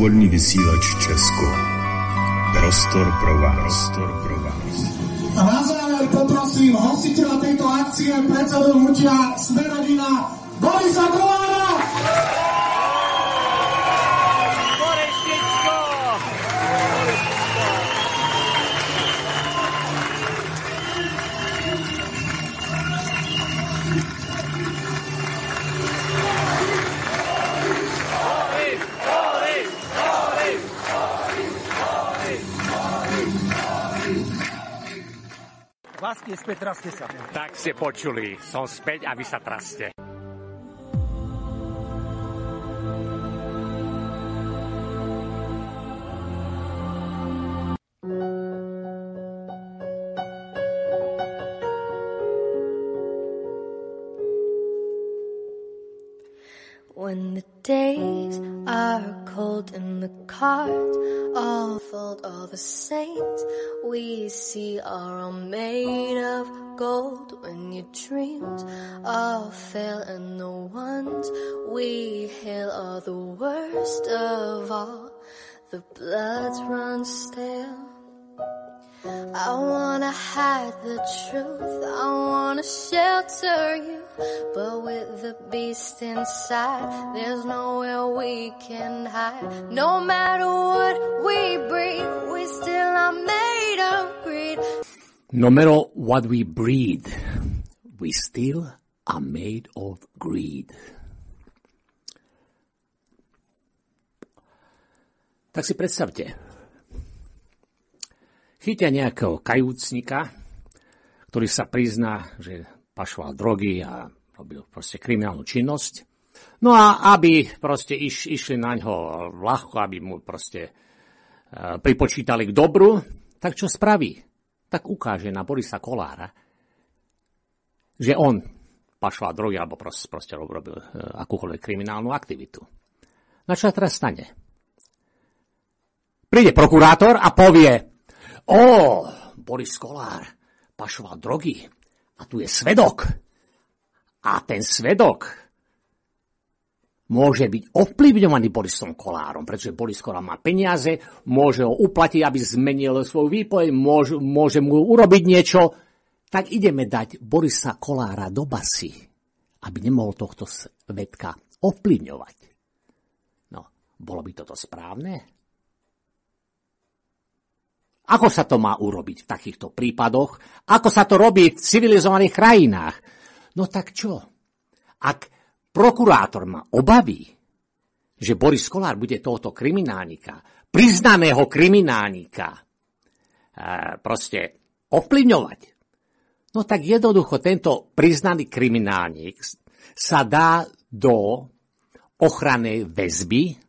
Slobodný vysílač Česko. Prostor pro vás. A na záver poprosím hostiteľa tejto akcie, predsedu hnutia Smer-rodina Borisa Kollára. Vlastne späť, traste sa. Tak ste počuli, som späť a vy sa traste. When the days are cold and the cards all fold, all the saints we see are all made of gold. When your dreams all fail and the ones we hail are the worst of all, the bloods run stale. I wanna hide the truth, I wanna shelter you, but with the beast inside, there's nowhere we can hide. No matter what we breed, we still are made of greed. No matter what we breed, we still are made of greed. Tak si predstavte, chytia nejakého kajúcnika, ktorý sa prizná, že pašoval drogy a robil proste kriminálnu činnosť. No a aby proste išli na ňo ľahko, aby mu proste pripočítali k dobru, tak čo spraví? Tak ukáže na Borisa Kollára, že on pašoval drogy alebo proste robil akúkoľvek kriminálnu aktivitu. Na čo sa teraz stane? Príde prokurátor a povie: Boris Kollár pašoval drogy a tu je svedok. A ten svedok môže byť ovplyvňovaný Borisom Kollárom, pretože Boris Kollár má peniaze, môže ho uplatiť, aby zmenil svoju výpoveď, môže mu urobiť niečo. Tak ideme dať Borisa Kollára do basy, aby nemohol tohto svedka ovplyvňovať. No, bolo by toto správne? Ako sa to má urobiť v takýchto prípadoch? Ako sa to robí v civilizovaných krajinách? No tak čo? Ak prokurátor má obavy, že Boris Kollár bude tohoto kriminálnika, priznaného kriminálnika, proste ovplyvňovať, no tak jednoducho tento priznaný kriminálnik sa dá do ochrannej väzby,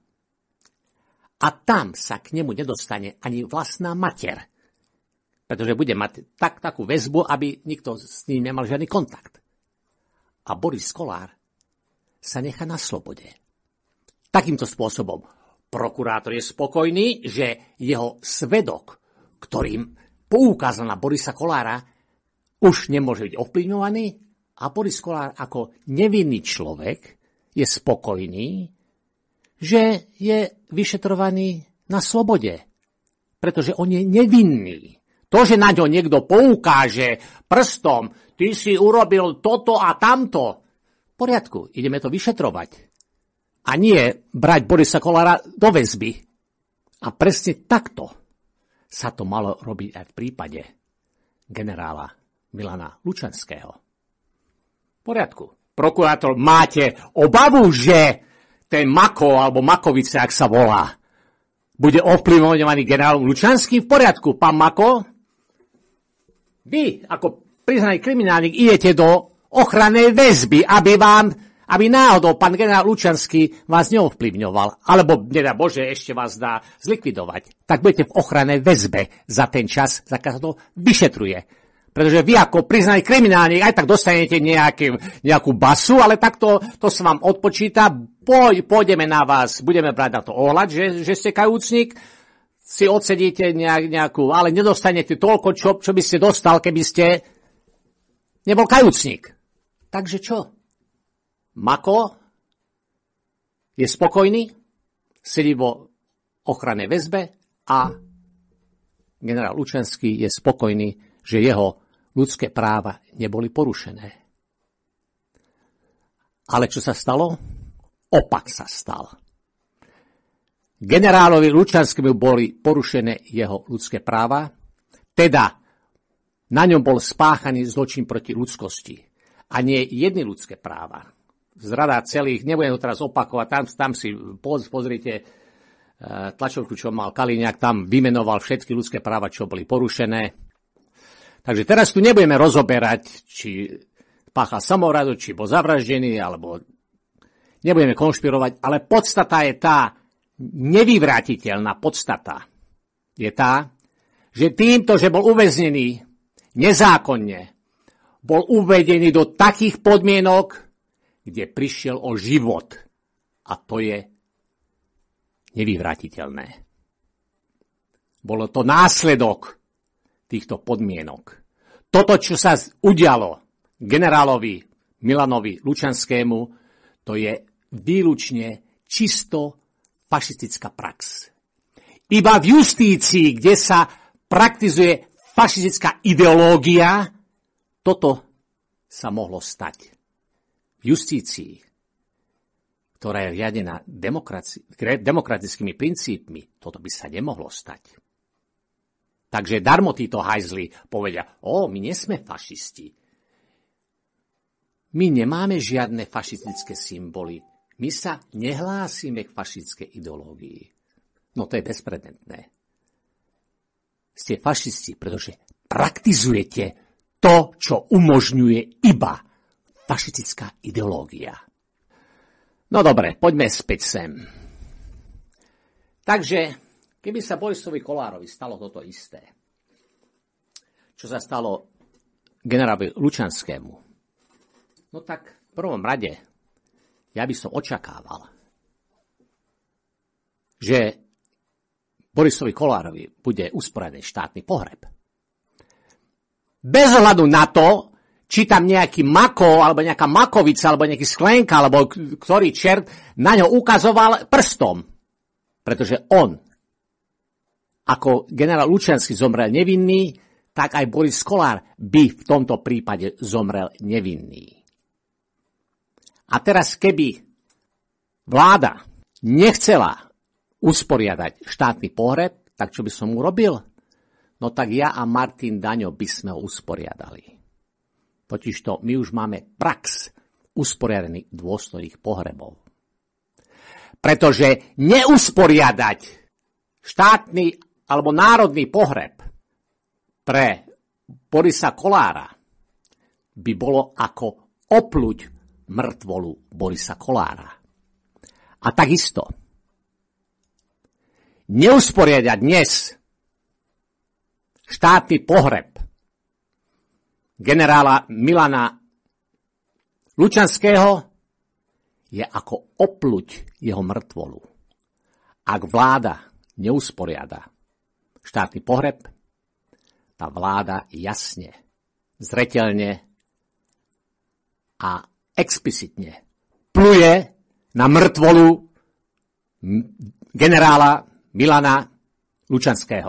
a tam sa k nemu nedostane ani vlastná mater. Pretože bude mať takú väzbu, aby nikto s ním nemal žiadny kontakt. A Boris Kollár sa nechá na slobode. Takýmto spôsobom prokurátor je spokojný, že jeho svedok, ktorým poukázal na Borisa Kollára, už nemôže byť ovplyvňovaný a Boris Kollár ako nevinný človek je spokojný, že je vyšetrovaný na slobode, pretože on je nevinný. To, že na ňo niekto poukáže prstom, ty si urobil toto a tamto, v poriadku, ideme to vyšetrovať. A nie brať Borisa Kollára do väzby. A presne takto sa to malo robiť aj v prípade generála Milana Lučanského. V poriadku. Prokurátor, máte obavu, že ten Mako, alebo Makovice, ak sa volá, bude ovplyvňovaný generálom Lučanským? V poriadku, pán Mako. Vy, ako priznaný kriminálnik, idete do ochrannej väzby, aby náhodou pán generál Lučanský vás neovplyvňoval, alebo, nedá Bože, ešte vás dá zlikvidovať. Tak budete v ochrannej väzbe za ten čas, za keď sa to vyšetruje. Pretože vy ako priznaný kriminálnik aj tak dostanete nejakú basu, ale takto to sa vám odpočíta. Pôjdeme na vás, budeme brať na to ohľad, že ste kajúcnik, si odsedíte nejakú, ale nedostanete toľko, čo by ste dostal, keby ste nebol kajúcnik. Takže čo? Mako je spokojný, sedí vo ochrannej väzbe a generál Lučanský je spokojný, že jeho ľudské práva neboli porušené. Ale čo sa stalo? Opak sa stal. Generálovi Lučanskému boli porušené jeho ľudské práva, teda na ňom bol spáchaný zločin proti ľudskosti a nie jedny ľudské práva. Zrada celých, nebudem to teraz opakovať, tam si pozrite tlačovku, čo mal Kaliňák, tam vymenoval všetky ľudské práva, čo boli porušené. Takže teraz tu nebudeme rozoberať, či páchal samovraždu, či bol zavraždený, alebo nebudeme konšpirovať, ale podstata je tá, nevyvrátiteľná podstata je tá, že týmto, že bol uväznený nezákonne, bol uvedený do takých podmienok, kde prišiel o život. A to je nevyvrátiteľné. Bolo to následok týchto podmienok. Toto, čo sa udialo generálovi Milanovi Lučanskému, to je výlučne čisto fašistická prax. Iba v justícii, kde sa praktizuje fašistická ideológia, toto sa mohlo stať. V justícii, ktorá je riadená demokratickými princípmi, toto by sa nemohlo stať. Takže darmo títo hajzli povedia, my nie sme fašisti. My nemáme žiadne fašistické symboly. My sa nehlásime k fašistickej ideológii. No to je bezprecedentné. Ste fašisti, pretože praktizujete to, čo umožňuje iba fašistická ideológia. No dobre, poďme späť sem. Takže, keby sa Borisovi Kollárovi stalo toto isté, čo sa stalo generálovi Lučanskému, no tak v prvom rade ja by som očakával, že Borisovi Kollárovi bude usporiadaný štátny pohreb. Bez ohľadu na to, či tam nejaký mako, alebo nejaká makovica, alebo nejaký sklenka, alebo ktorý čert na ňo ukazoval prstom. Pretože on, ako generál Lučanský zomrel nevinný, tak aj Boris Kollár by v tomto prípade zomrel nevinný. A teraz, keby vláda nechcela usporiadať štátny pohreb, tak čo by som urobil? No tak ja a Martin Daňo by sme ho usporiadali. Totižto my už máme prax usporiadaných dôstojných pohrebov. Pretože neusporiadať štátny alebo národný pohreb pre Borisa Kollára by bolo ako opluť mŕtvolu Borisa Kollára. A takisto neusporiadať dnes štátny pohreb generála Milana Lučanského je ako opluť jeho mŕtvolu. Ak vláda neusporiada štátny pohreb, tá vláda jasne, zreteľne a explicitne pluje na mŕtvolu generála Milana Lučanského.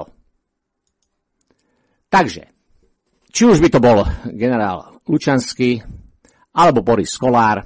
Takže, či už by to bol generál Lučanský alebo Boris Kollár,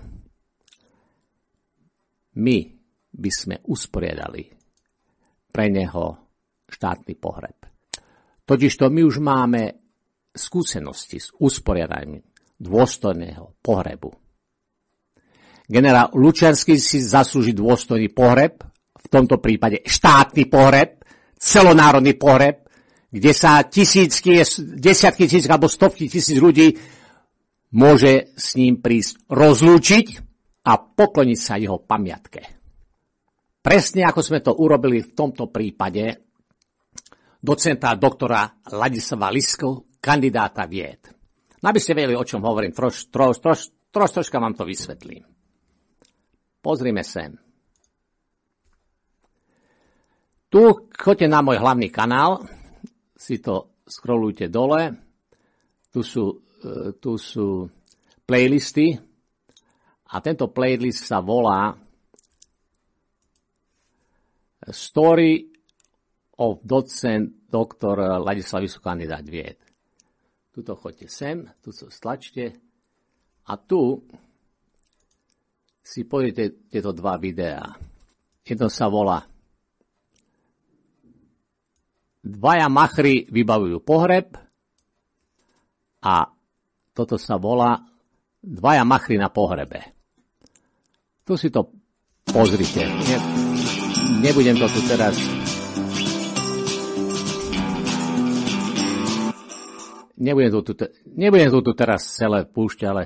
my by sme usporiadali pre neho štátny pohreb. Totižto my už máme skúsenosti s usporiadaním dôstojného pohrebu. Generál Lučanský si zaslúži dôstojný pohreb, v tomto prípade štátny pohreb, celonárodný pohreb, kde sa desiatky tisíc alebo stovky tisíc ľudí môže s ním prísť rozlúčiť a pokloniť sa jeho pamiatke. Presne ako sme to urobili v tomto prípade docenta doktora Ladislava Lisku, kandidáta vied. No aby ste vedeli, o čom hovorím, troška vám to vysvetlím. Pozrime sem. Tu choďte na môj hlavný kanál, si to scrollujte dole, tu sú playlisty a tento playlist sa volá Story docent, doktor Ladislav Vysoký kandidát vied. Tuto choďte sem, tu sa stlačte a tu si pozrite tieto dva videá. Jedno sa volá Dvaja machry vybavujú pohreb a toto sa volá Dvaja machry na pohrebe. Tu si to pozrite. Nebudem to tu teraz... Nebudem to tu teraz celé púšťať, ale...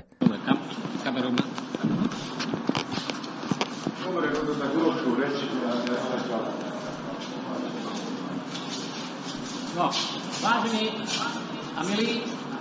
No, vážení a milí.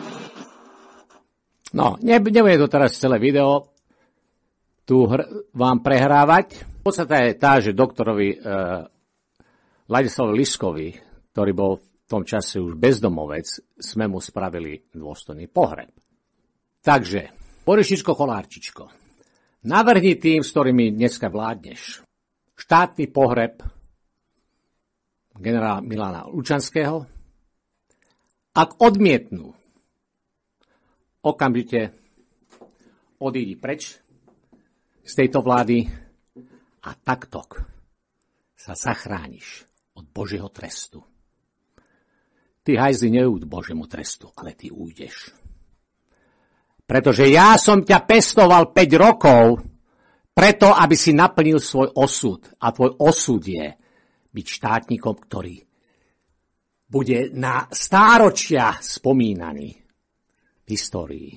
No, nebudem to teraz celé video tu vám prehrávať. Podstata je tá, že doktorovi Ladislavovi Liskovi, ktorý bol v tom čase už bezdomovec, sme mu spravili dôstojný pohreb. Takže, Borišičko, Kolárčičko, navrhni tým, s ktorými dneska vládneš, štátny pohreb generála Milana Lučanského. Ak odmietnú, okamžite odídi preč z tejto vlády a takto sa zachrániš od Božieho trestu. Ty, hajzli, neújď Božiemu trestu, ale ty újdeš. Pretože ja som ťa pestoval 5 rokov preto, aby si naplnil svoj osud. A tvoj osud je byť štátnikom, ktorý bude na stáročia spomínaný v histórii.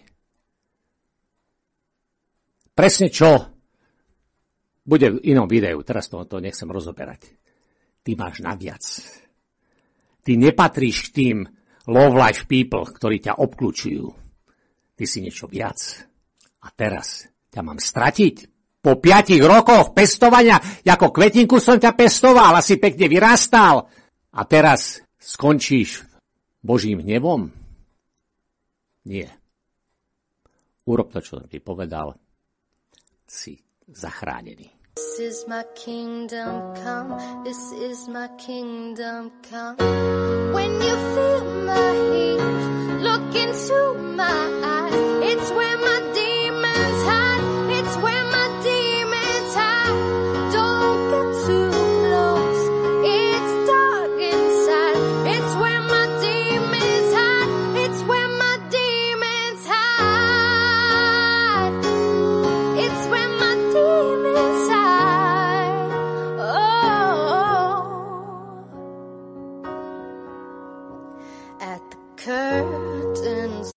Presne čo bude v inom videu, teraz to nechcem rozoberať. Ty máš naviac. Ty nepatríš k tým low-life people, ktorí ťa obklúčujú. Ty si niečo viac. A teraz ťa mám stratiť? Po 5 rokoch pestovania, ako kvetinku som ťa pestoval, asi pekne vyrastal. A teraz skončíš Božím hnevom? Nie. Urob to, čo som ti povedal. Si zachránený. This is my kingdom come, this is my kingdom come. When you feel my heat, look into my eyes. It's where my demons hide, it's where my demons hide. Don't get too close, it's dark inside. It's where my demons hide, it's where my demons hide. It's where my demons hide. Curtains,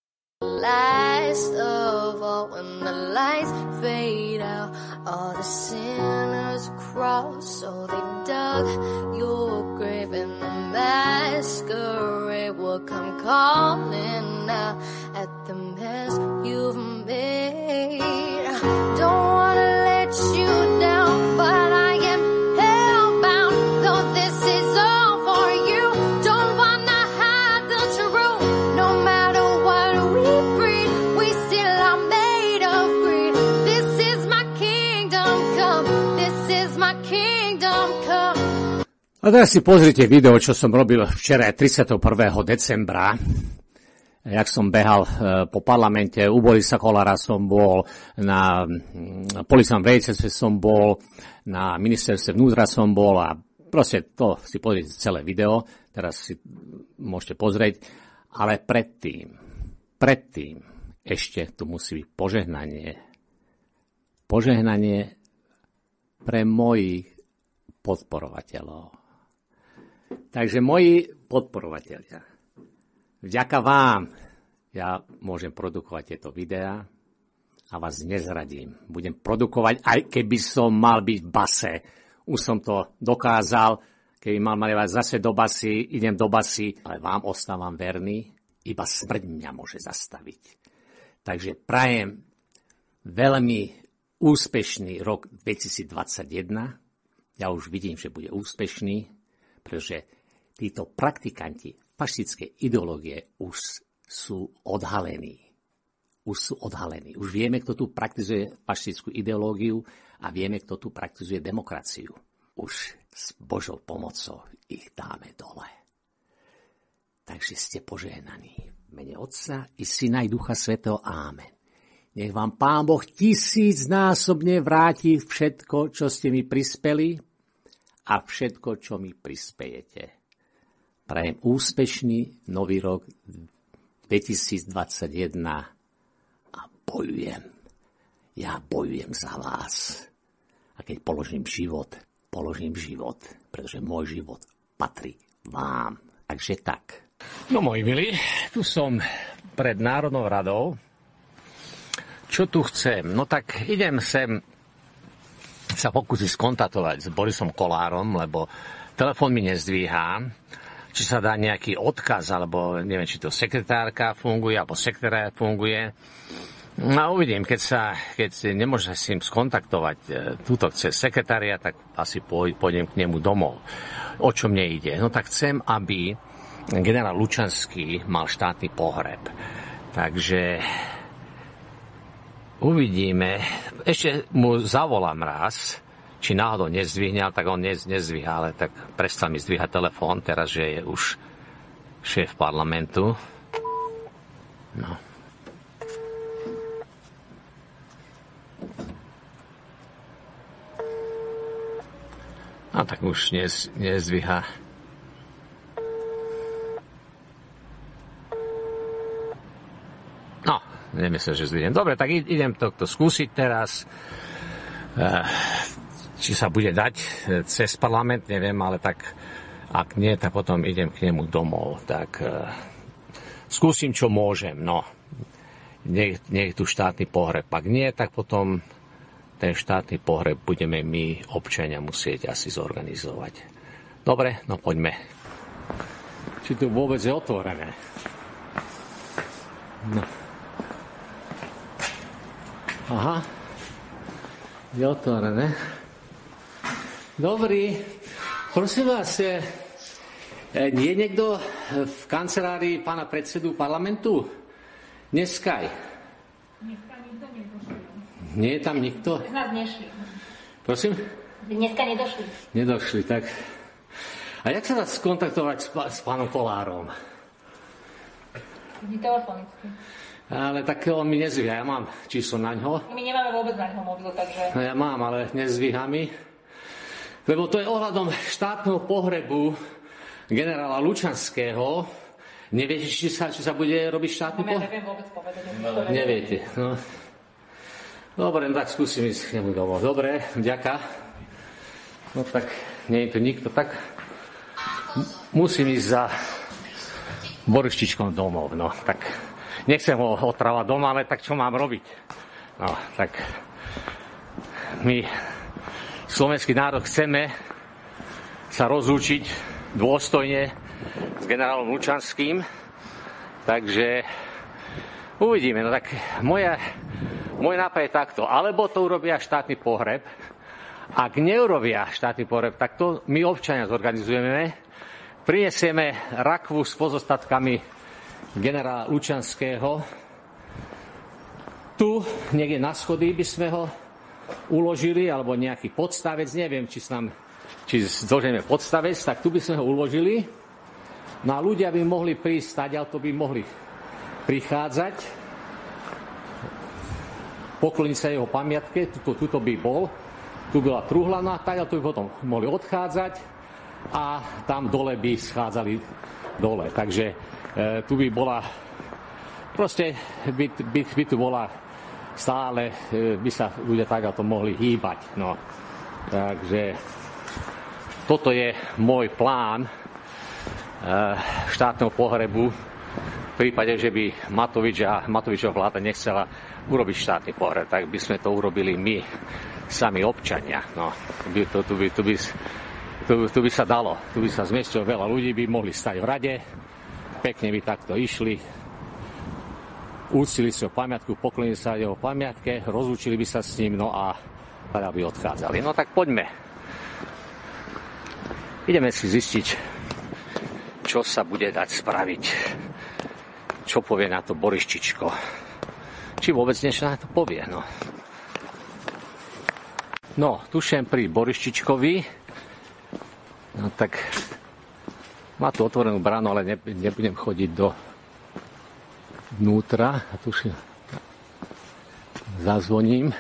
last of all, when the lights fade out, all the sinners cross, so they dug your grave, and the masquerade will come calling out at the mess you've made. Don't wanna let you down, but I am hellbound, though this is all for you. Don't wanna hide the truth, no matter what we breed, we still are made of greed. This is my kingdom come, this is my kingdom come. A teraz si pozrite video, čo som robil včera 31. decembra. Jak som behal po parlamente, u Borisa Kollára som bol, na policajnom veliteľstve som bol, na ministerstve vnútra som bol a proste to si pozrite celé video, teraz si môžete pozrieť, ale predtým ešte tu musí byť požehnanie. Požehnanie pre mojich podporovateľov. Takže moji podporovatelia, vďaka vám ja môžem produkovať tieto videá a vás nezradím. Budem produkovať, aj keby som mal byť v base. Už som to dokázal, keby mal mať zase do basy, idem do basy, ale vám ostávam verný, iba smrť mňa môže zastaviť. Takže prajem veľmi úspešný rok 2021. Ja už vidím, že bude úspešný, pretože títo praktikanti fašistické ideológie už sú odhalení. Už vieme, kto tu praktizuje fašistickú ideológiu a vieme, kto tu praktizuje demokraciu. už s Božou pomocou ich dáme dole. Takže ste požehnaní. V mene Otca i Syna i Ducha Svätého. Amen. Nech vám Pán Boh 1000-násobne vráti všetko, čo ste mi prispeli a všetko, čo mi prispejete. Prajem úspešný nový rok 2021 a bojujem. Ja bojujem za vás. A keď položím život, pretože môj život patrí vám. Takže tak. No moji milí, tu som pred Národnou radou. Čo tu chcem? No tak idem sem sa pokúsiť skontaktovať s Borisom Kollárom, lebo telefón mi nezdvíhá. Či sa dá nejaký odkaz, alebo neviem, či to sekretárka funguje, alebo sekretária funguje. No a uvidím, keď nemôžem s ním skontaktovať túto cez sekretária, tak asi pôjdem k nemu domov. O čo mne ide? No tak chcem, aby generál Lučanský mal štátny pohreb. Takže uvidíme. Ešte mu zavolám raz, či náhodou nezdvihne, tak on nezdvíha, ale tak prestal mi zdvíhať telefón, teraz, že je už šéf parlamentu. No. A tak už nezdvíha. No, nemyslím, že zdvihnem. Dobre, tak idem to skúsiť teraz. Či sa bude dať cez parlament, neviem, ale tak ak nie, tak potom idem k nemu domov. Tak skúsim, čo môžem. No, nech tu štátny pohreb. Ak nie, tak potom ten štátny pohreb budeme my, občania, musieť asi zorganizovať. Dobre, no poďme. Či tu vôbec je otvorené? No. Aha. Je otvorené. Dobrý. Prosím vás, je niekto v kancelárii pána predsedu parlamentu? Dneska. Dneska nikto nedošli. Nie je tam nikto? Z nás nešli. Prosím? Dneska nedošli. Nedošli, tak. A jak sa dá skontaktovať s pánom Kollárom? Telefonicky. Ale tak on mi nezvíha, ja mám číslo na ňo. My nemáme vôbec na ňo mobil, takže... No ja mám, ale nezvíha mi. Lebo to je ohľadom štátneho pohrebu generála Lučanského. Neviete, či sa bude robiť štátny pohreb? Ja neviem vôbec povedať. Neviete, no. Dobre, no tak skúsim ísť k nemu domov. Dobre, vďaka. No tak, nie je tu nikto, tak musím ísť za Borištičkom domov, no tak nechcem ho otrávať doma, ale tak čo mám robiť? No, tak my, slovenský národ, chceme sa rozlúčiť dôstojne s generálom Lučanským, takže uvidíme, no tak môj nápad je takto, alebo to urobia štátny pohreb, ak neurobia štátny pohreb, tak to my občania zorganizujeme, prinesieme rakvu s pozostatkami generála Lučanského. Tu niekde na schody by sme ho uložili, alebo nejaký podstavec, neviem, či zložíme podstavec, tak tu by sme ho uložili. No a ľudia by mohli prísť, ale to by mohli prichádzať, pokloniť sa jeho pamiatke, tuto by bol, tu bola truhla, no a tak, tu by potom mohli odchádzať a tam dole by schádzali dole. Takže tu by bola, proste by tu bola stále, by sa ľudia tak to mohli hýbať. No. Takže toto je môj plán štátneho pohrebu v prípade, že by Matovičova vláda nechcela urobiť štátny pohreb, tak by sme to urobili my, sami občania. No, tu by sa dalo, tu by sa zmestilo veľa ľudí, by mohli stať v rade, pekne by takto išli, úctili si ho pamiatku, poklonili sa jeho pamiatke, rozlúčili by sa s ním, no a teda by odchádzali. No tak poďme. Ideme si zistiť, čo sa bude dať spraviť. Čo povie na to Borištičko. Či vôbec niečo na to povie, no. No, tuším pri Borištičkovi, No tak má tu otvorenú bránu, ale nebudem chodiť vnútra. A tu si zazvoním.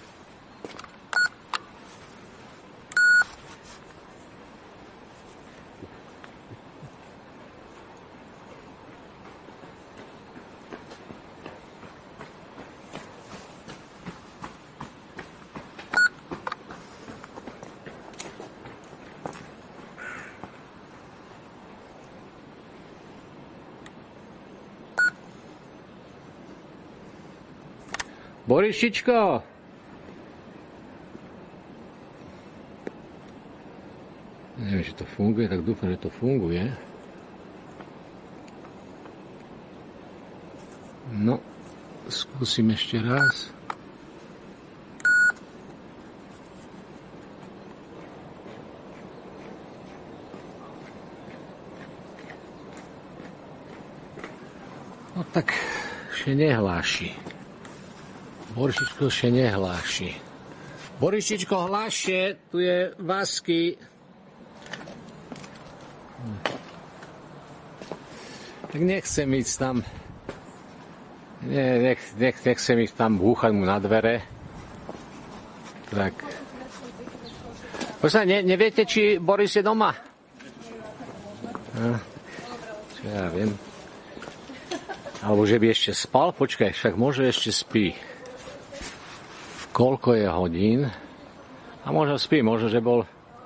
Borišičko! Neviem, či to funguje, tak dúfam, že to funguje. No, skúsim ešte raz. No tak, ešte nehláši. Borišičko še nehláši. Borišičko, hlášie, tu je Vasky. Tak nechcem ísť tam. Nechcem ísť tam búchať mu na dvere. Tak. Neviete, či Boris je doma? Čo ja viem. Alebo že by ešte spal? Počkaj, však môže ešte spí. Koľko je hodín? A možno spí, možno, že bol...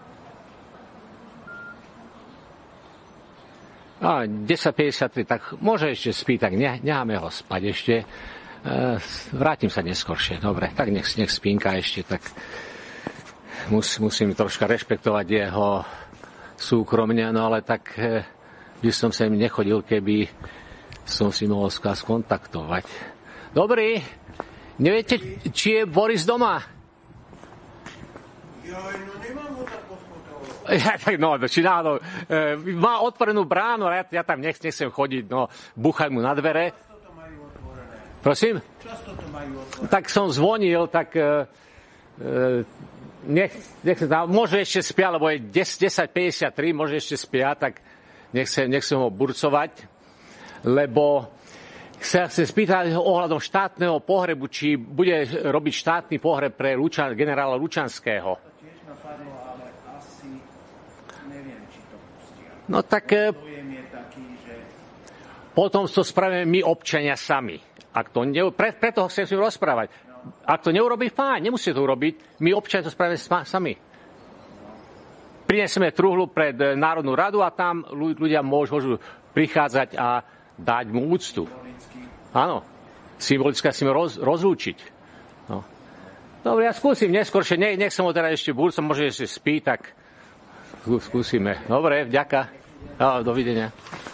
10:53, tak môže ešte spí, tak necháme ho spať ešte. Vrátim sa neskôršie. Dobre, tak nech spínka ešte, tak musím troška rešpektovať jeho súkromne, no ale tak by som sa im nechodil, keby som si mohol skontaktovať. Dobrý. Neviete, či je Boris doma? No nemám ho tak poskontrolovať. Či náhodou. Má otvorenú bránu, ale ja tam nechcem chodiť, búchať mu na dvere. Často to majú otvorené. Prosím? Často to majú otvorené. Tak som zvonil, tak môže ešte spia, lebo je 10:53, môže ešte spia, tak nechcem ho burcovať, lebo sa chce spýtať ohľadom štátneho pohrebu, či bude robiť štátny pohreb pre generála Lučanského. To tiež napadlo, ale asi neviem, či to pustia. No tak Pojem je taký, že potom to spravíme my občania sami. Preto ho chcem s ním rozprávať. Ak to neurobí, fajn, nemusí to urobiť. My občania to spravíme sami. Prinesieme truhlu pred Národnú radu a tam ľudia môžu prichádzať a dať mu úctu. Áno, symbolicky si rozlúčiť. No. Dobre, ja skúsim neskôršie, nech som ho teda ešte burcom, môže ešte spí, tak skúsime. Dobre, vďaka. Dovidenia.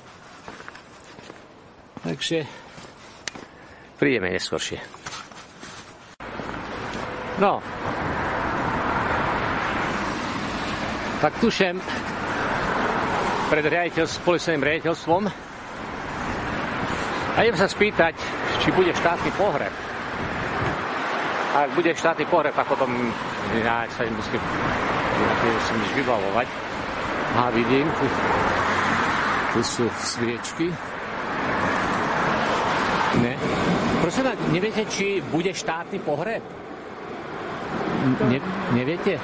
Takže prídeme neskôršie. No. Tak tušem pred policajným riaditeľstvom a idem sa spýtať, či bude štátny pohreb. A ak bude štátny pohreb, tak potom ja sa musím nič vybavovať. A vidím, tu sú sviečky. Ne. Prosím, neviete, či bude štátny pohreb? Neviete?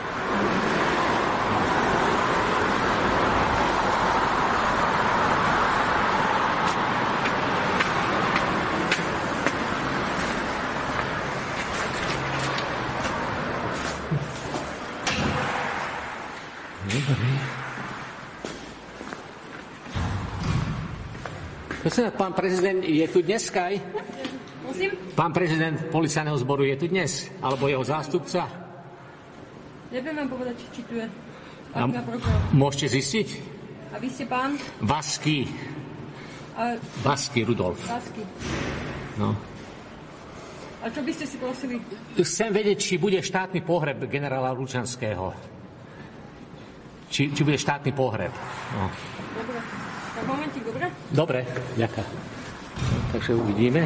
Pán prezident je tu dneska aj? Musím? Pán prezident policajného zboru je tu dnes? Alebo jeho zástupca? Neviem vám povedať, či tu je. Môžete zistiť? A vy ste pán? Vasky. Vasky Rudolf. Vasky. No. A čo by ste si prosili? Chcem vedieť, či bude štátny pohreb generála Lučanského. Či bude štátny pohreb. No. Dobre. Tak momentík, dobre? Dobre, ďakujem. Takže uvidíme.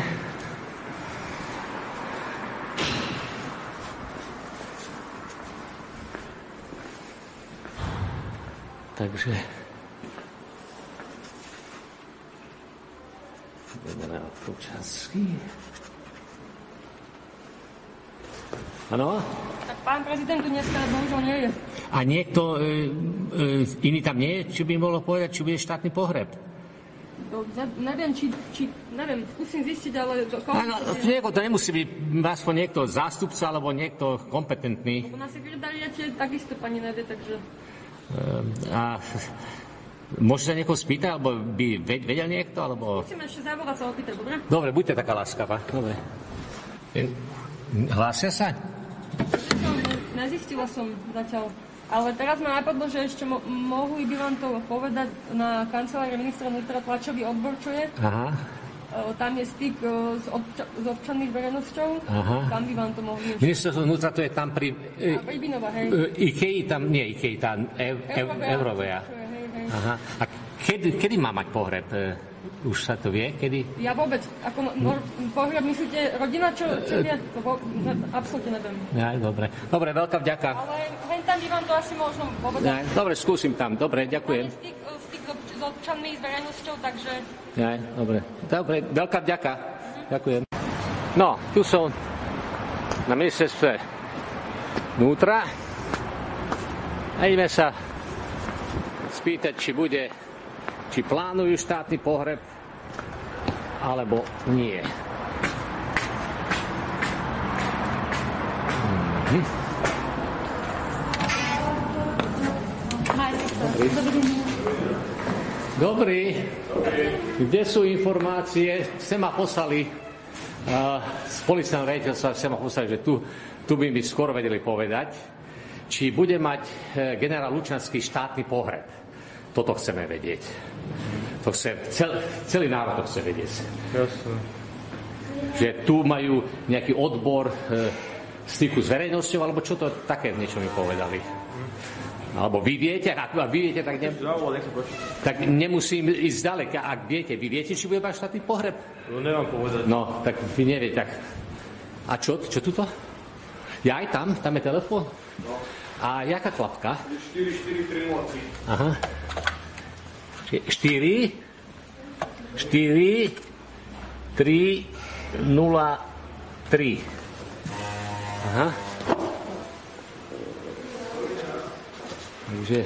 takže... Generál Pročasský. Áno? Tak pán prezident tu dneska bohužiaľ nie je. A niekto iný tam nie je? Či by mohlo povedať, či bude štátny pohreb? Neviem, neviem, skúsim zistiť, ale... Áno, to nemusí byť aspoň niekto zástupca, alebo niekto kompetentný. Na sekretariate takisto pani nevie, takže... A môže sa niekoho spýtať, alebo by vedel niekto, alebo... Musíme ešte zavolať sa opýtať, dobre? Dobre, buďte taká láskavá. Dobre. Hlásia sa? Nezistila som zatiaľ. Ale teraz ma napadlo, že ešte mohli by vám to povedať na kancelárii ministra vnútra tlačový odbor, čo je. Aha. Tam je styk s občanmi verejnosťou. Aha. Tam by vám to mohli... Ministerstvo vnútra to je tam pri... Rybinova, hej. IKEA tam, nie IKEA, tam Eurovea. Aha. A kedy má mať pohreb? Už sa to vie? Kedy? Ja vôbec. Ako pohreb myslíte rodina, čo vie? To absolútne neviem. Ja, dobre. Dobre, veľká vďaka. Ale tam by vám to asi možno povedať. Ja, dobre, skúsim tam. Dobre, ďakujem. Styk s občanmi, s verejnosťou, takže... Ja, dobre. Dobre, veľká vďaka. Ďakujem. No, tu som na ministerstve vnútra a ideme sa spýtať, či plánujú štátny pohreb, alebo nie. Dobrý. Kde sú informácie? Sem ma poslali z policajného riaditeľstva, sem ma poslali, že tu by mi skoro vedeli povedať, či bude mať generál Lučanský štátny pohreb. Toto chceme vedieť. To chce, celý národ to chce vedieť. Jasne. Že tu majú nejaký odbor styku s verejnosťou, alebo čo to také niečo mi povedali. Alebo vy viete, ak vy viete, tak nemusím ísť ďaleko. Ak viete, vy viete, či bude mať štátny pohreb? No, nemám povedať. No, tak vy neviete. Tak. A čo tuto? Ja aj tam je telefón? No. A jaká klapka? 44303. Aha. 4 3 0 3. Aha. Takže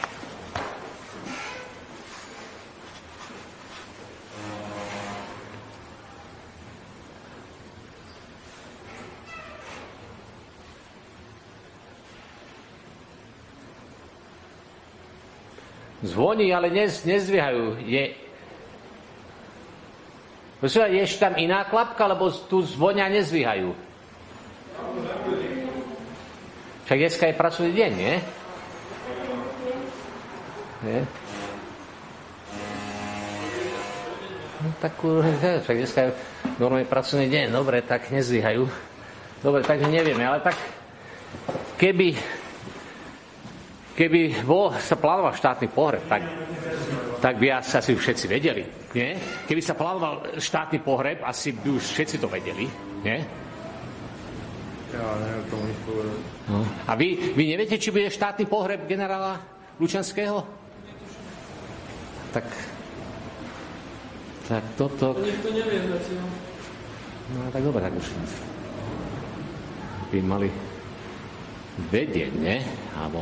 zvoní, ale nezdvíhajú. Je ešte tam iná klapka, lebo tu zvonia a nezdvíhajú. Však dneska je pracovný deň, nie? Nie? No, tak však dneska je normálne pracovný deň. Dobre, tak nezdvíhajú. Dobre, takže nevieme, ale tak keby sa plánoval štátny pohreb, tak by asi všetci vedeli, nie? Keby sa plánoval štátny pohreb, asi by už všetci to vedeli, nie? Ja neviem tomu nič povedať. No. A vy neviete, či bude štátny pohreb generála Lučanského? Tak toto... Nikto nevie zatiaľ. No tak dobre, tak už by mali vedieť, nie? Alebo...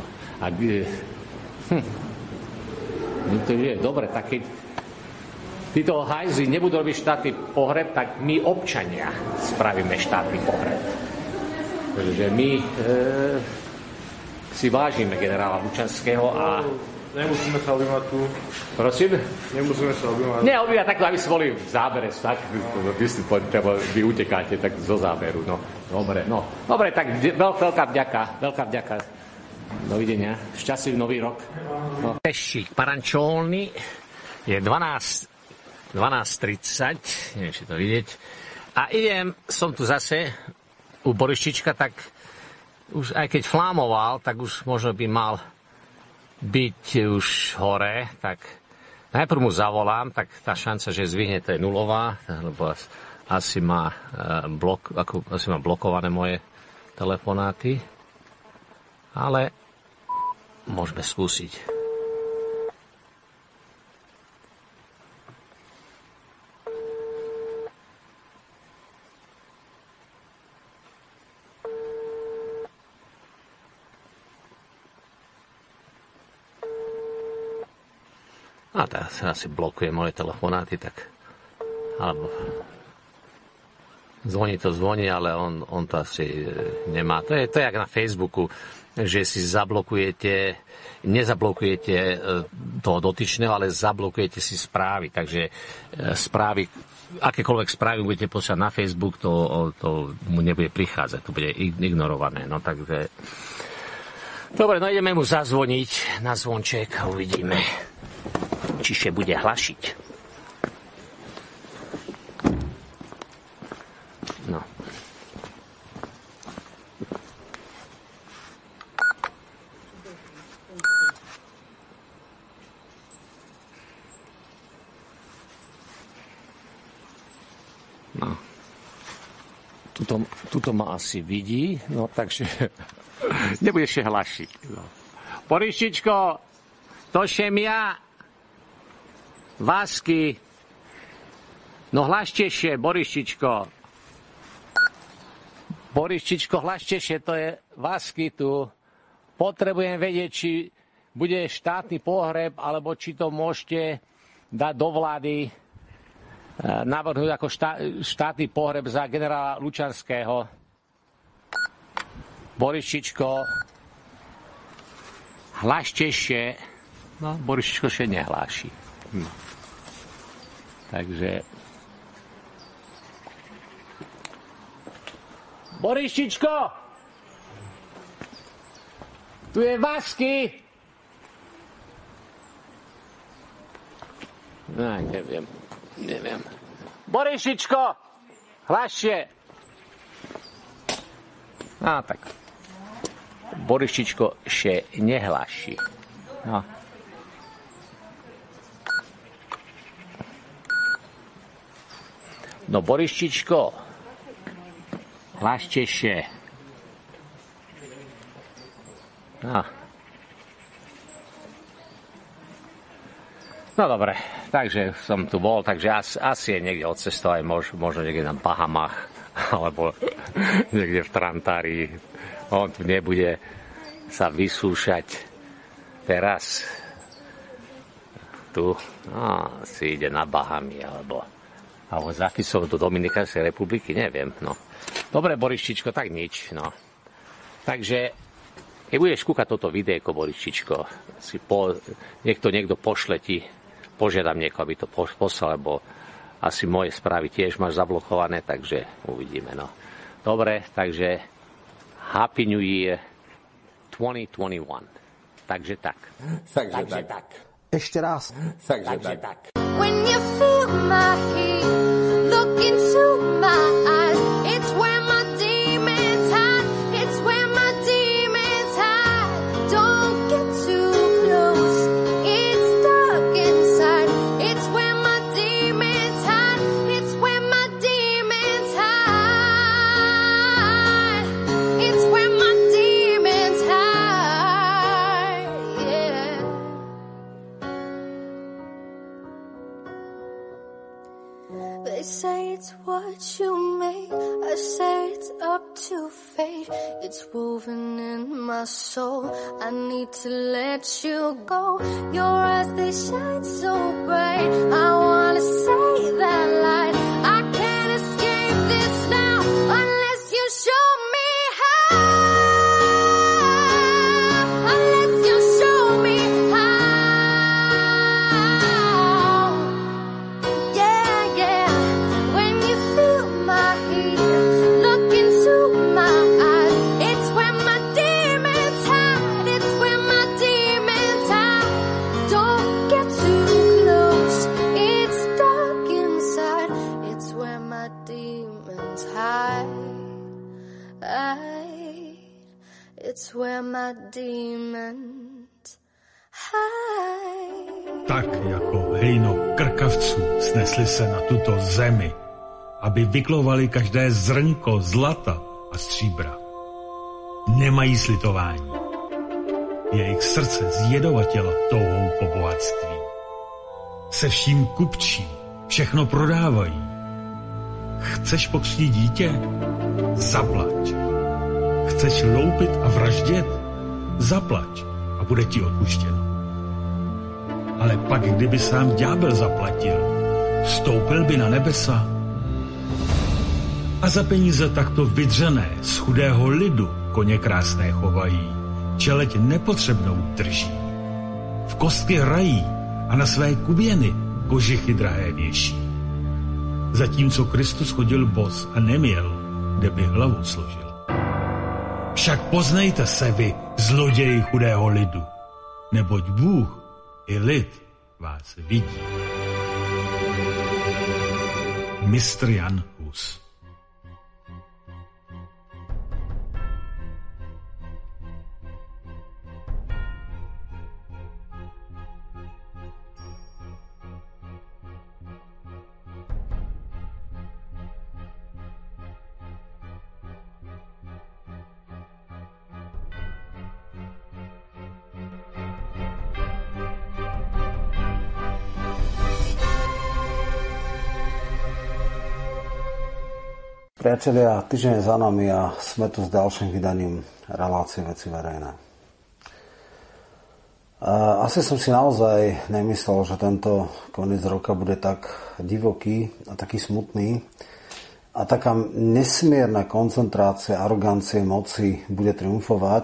To je dobre, tak keď títo hajzli nebudú robiť štátny pohreb, tak my občania spravíme štátny pohreb. Pretože my si vážime generála Lučanského a... Nemusíme sa objímať tu. Prosím? Nemusíme sa objímať. Nie, objímať tak, aby sme boli v zábere, tak vy utekáte tak zo záberu, no. Dobre, no. Dobre, tak veľká vďaka. Dovidenia. Šťastlivý nový rok. No. Peščík Parančolny je 12:30, neviem, či to vidieť. A som tu zase u Borištička, tak už aj keď flámoval, tak už možno by mal byť už hore, tak najprv mu zavolám, tak tá šanca, že zvihne, to je nulová, lebo asi má blokované moje telefonáty. Ale môžeme skúsiť. A teraz asi blokuje moje telefonáty, tak... Alebo... Zvoní, ale on to asi nemá. To je jak na Facebooku, že si nezablokujete toho dotyčného, ale zablokujete si správy. Takže správy, akékoľvek správy budete poslať na Facebook, to mu nebude prichádzať, to bude ignorované. No takže... Dobre, no ideme mu zazvoniť na zvonček a uvidíme, či sa bude hlašiť. No. No. Tuto ma asi vidí, no takže nebudeš sa hlašiť. No. Boryšičko, to šem ja. Vásky. No hlašte sa, Boryšičko. Boryšičko, hlašte sa, to je Vásky tu. Potrebujem vedieť, či bude štátny pohreb, alebo či to môžete dať do vlády, navrhnúť ako štátny pohreb za generála Lučanského. Boryšičko, hlašte sa. No, Boryšičko sa nehláši. Takže... Boryšičko! Tu je Vásky! No, neviem. Boryšičko! Hlasšie! Tak. Boryšičko še nehláši. No. No, Boryšičko, hlašte sa. No dobre, takže som tu bol, takže asi je niekde odcestovať, možno niekde na Bahamach, alebo niekde v Trantárii. On tu nebude sa vysúšať teraz. Tu si ide na Bahamy, alebo za Ficov do Dominikánskej republiky, neviem, no. Dobre, Boryšičko, tak nič, no. Takže, keď budeš kúkať toto videjko, Boryšičko, niekto pošle ti, požiadam niekoho, aby to poslal, lebo asi moje správy tiež máš zablokované, takže uvidíme, no. Dobre, takže Happy New Year 2021. Takže tak. Takže tak. Ešte raz. Takže tak. When you feel my heat, look into my eyes. It's where my demons hide. It's where my demons hide. Don't get too close. It's dark inside. It's where my demons hide. It's where my demons hide. It's where my demons hide. Yeah. They say it's what you make. I say it's up to fate. It's woven in my soul. I need to let you go. Your eyes, they shine so bright. I wanna say that light. I can't escape this now unless you show me how. Unless you show me how. Yeah, yeah. When you feel my heat, look into my eyes. It's where my demons hide. It's where my demons hide. Don't get too close. It's dark inside. It's where my demons hide. It's where my demons hide. Tak jako hejno krkavců snesli se na tuto zemi, aby vyklovali každé zrnko zlata a stříbra. Nemají slitování. Jejich srdce zjedovatěla touhou po bohatství. Se vším kupčí, všechno prodávají. Chceš pokřtít dítě? Zaplať. Chceš loupit a vraždět? Zaplať a bude ti odpuštěno. Ale pak, kdyby sám ďábel zaplatil, vstoupil by na nebesa. A za peníze takto vydřené z chudého lidu koně krásné chovají, čeleť nepotřebnou drží. V kostky hrají a na své kuběny kožichy drahé věší. Zatímco Kristus chodil bos a neměl, kde by hlavu složil. Však poznejte se vy, zloději chudého lidu, neboť Bůh i lid vás vidí. Mistr Jan Hus. Priatelia, týždeň je za nami a sme tu s ďalším vydaním relácie Veci verejné. Asi som si naozaj nemyslel, že tento koniec roka bude tak divoký a taký smutný a taká nesmierna koncentrácia, arogancie, moci bude triumfovať.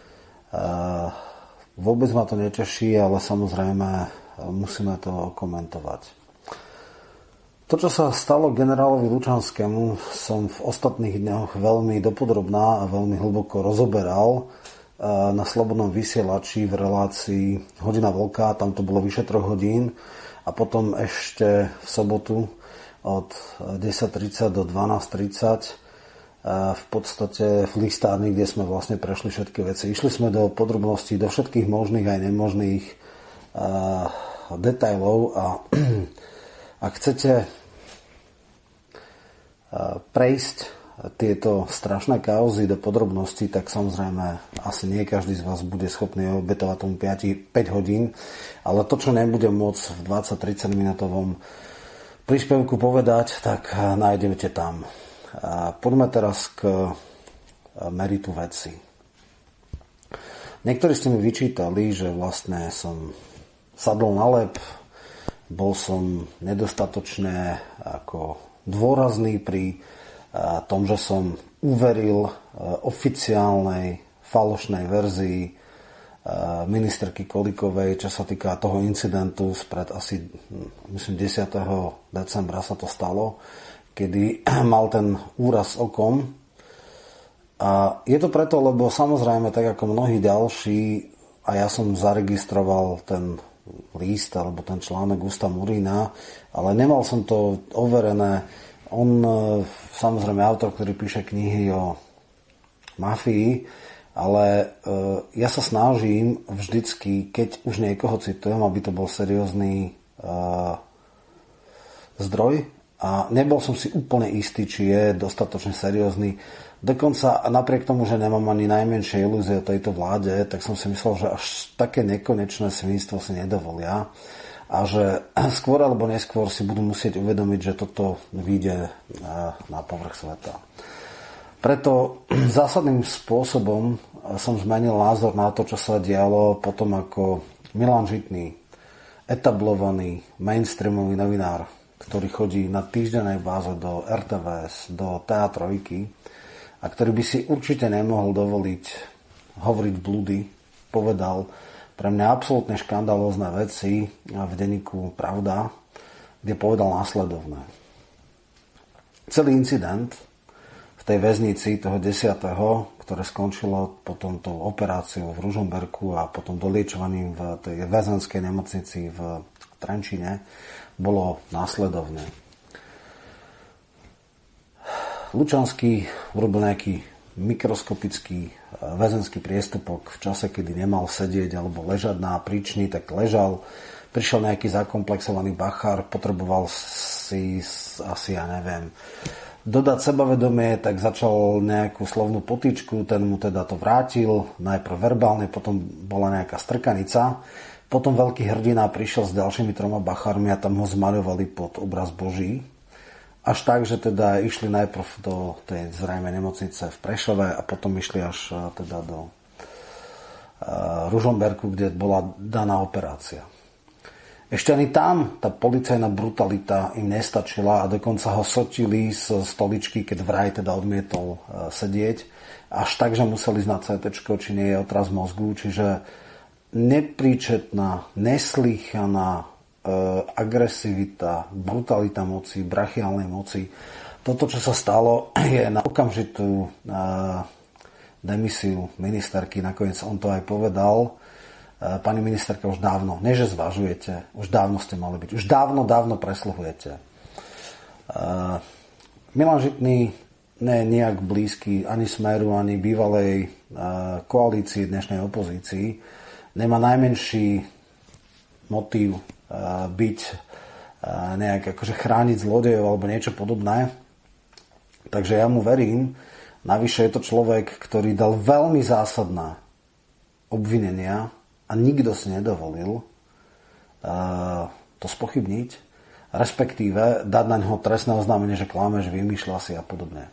Vôbec ma to neteší, ale samozrejme musíme to komentovať. To, čo sa stalo generálovi Lučanskému, som v ostatných dňoch veľmi dopodrobná a veľmi hlboko rozoberal na Slobodnom vysielači v relácii Hodina vlka, tam to bolo vyše 3 hodín a potom ešte v sobotu od 10:30 do 12:30 v podstate v listárni, kde sme vlastne prešli všetky veci. Išli sme do podrobností, do všetkých možných aj nemožných detailov a ak chcete prejsť tieto strašné kauzy do podrobností, tak samozrejme asi nie každý z vás bude schopný obetovať tomu 5 hodín, ale to, čo nebudem môcť v 20-30 minútovom príspevku povedať, tak nájdete tam. Poďme teraz k meritu veci. Niektorí ste mi vyčítali, že vlastne som sadol na lep, bol som nedostatočne ako dôrazný pri tom, že som uveril oficiálnej falošnej verzii ministerky Kolíkovej, čo sa týka toho incidentu spred asi, myslím, 10. decembra sa to stalo, kedy mal ten úraz okom. A je to preto, lebo samozrejme, tak ako mnohí ďalší, a ja som zaregistroval ten list alebo ten článok Gusta Murína, ale nemal som to overené. On, samozrejme, autor, ktorý píše knihy o mafii, ale ja sa snažím vždycky, keď už niekoho citujem, aby to bol seriózny zdroj, a nebol som si úplne istý, či je dostatočne seriózny. Dokonca napriek tomu, že nemám ani najmenšie ilúzie o tejto vláde, tak som si myslel, že až také nekonečné svinstvo si nedovolia a že skôr alebo neskôr si budú musieť uvedomiť, že toto vyjde na povrch sveta. Preto zásadným spôsobom som zmenil názor na to, čo sa dialo potom, ako Milan Žitný, etablovaný mainstreamový novinár, ktorý chodí na týždennej báze do RTVS, do TA3 a ktorý by si určite nemohol dovoliť hovoriť blúdy, povedal pre mňa absolútne škandalózne veci v denníku Pravda, kde povedal následovné. Celý incident v tej väznici toho 10., ktoré skončilo potom tou operáciou v Ružomberku a potom doliečovaním v tej väzenskej nemocnici v Trenčine, bolo následovné. Lučanský urobil nejaký mikroskopický väzenský priestupok v čase, kedy nemal sedieť alebo ležať na príčni, tak ležal. Prišiel nejaký zakomplexovaný bachár, potreboval si asi, ja neviem, dodať sebavedomie, tak začal nejakú slovnú potýčku, ten mu teda to vrátil, najprv verbálne, potom bola nejaká strkanica. Potom veľký hrdina prišiel s ďalšími 3 bachármi a tam ho zmaľovali pod obraz Boží. Až tak, že teda išli najprv do tej zrejme nemocnice v Prešove a potom išli až teda do Ružomberku, kde bola daná operácia. Ešte ani tam tá policajná brutalita im nestačila a dokonca ho sotili z stoličky, keď vraj teda odmietol sedieť. Až tak, že museli ísť na CT, či nie je otraz mozgu. Čiže nepríčetná, neslýchaná agresivita, brutalita moci, brachiálnej moci. Toto, čo sa stalo, je na okamžitú demisiu ministerky. Nakoniec on to aj povedal. Pani ministerka, už dávno, nie že zvažujete, už dávno ste mali byť, už dávno presluhujete. Milan Žitný nie nejak blízky ani Smeru, ani bývalej koalícii dnešnej opozícii, nemá najmenší motív byť nejak akože chrániť zlodejov alebo niečo podobné. Takže ja mu verím. Navyše je to človek, ktorý dal veľmi zásadná obvinenia a nikto si nedovolil to spochybniť, respektíve dať na ňoho trestné oznámenie, že klame, že vymýšľa si a podobne.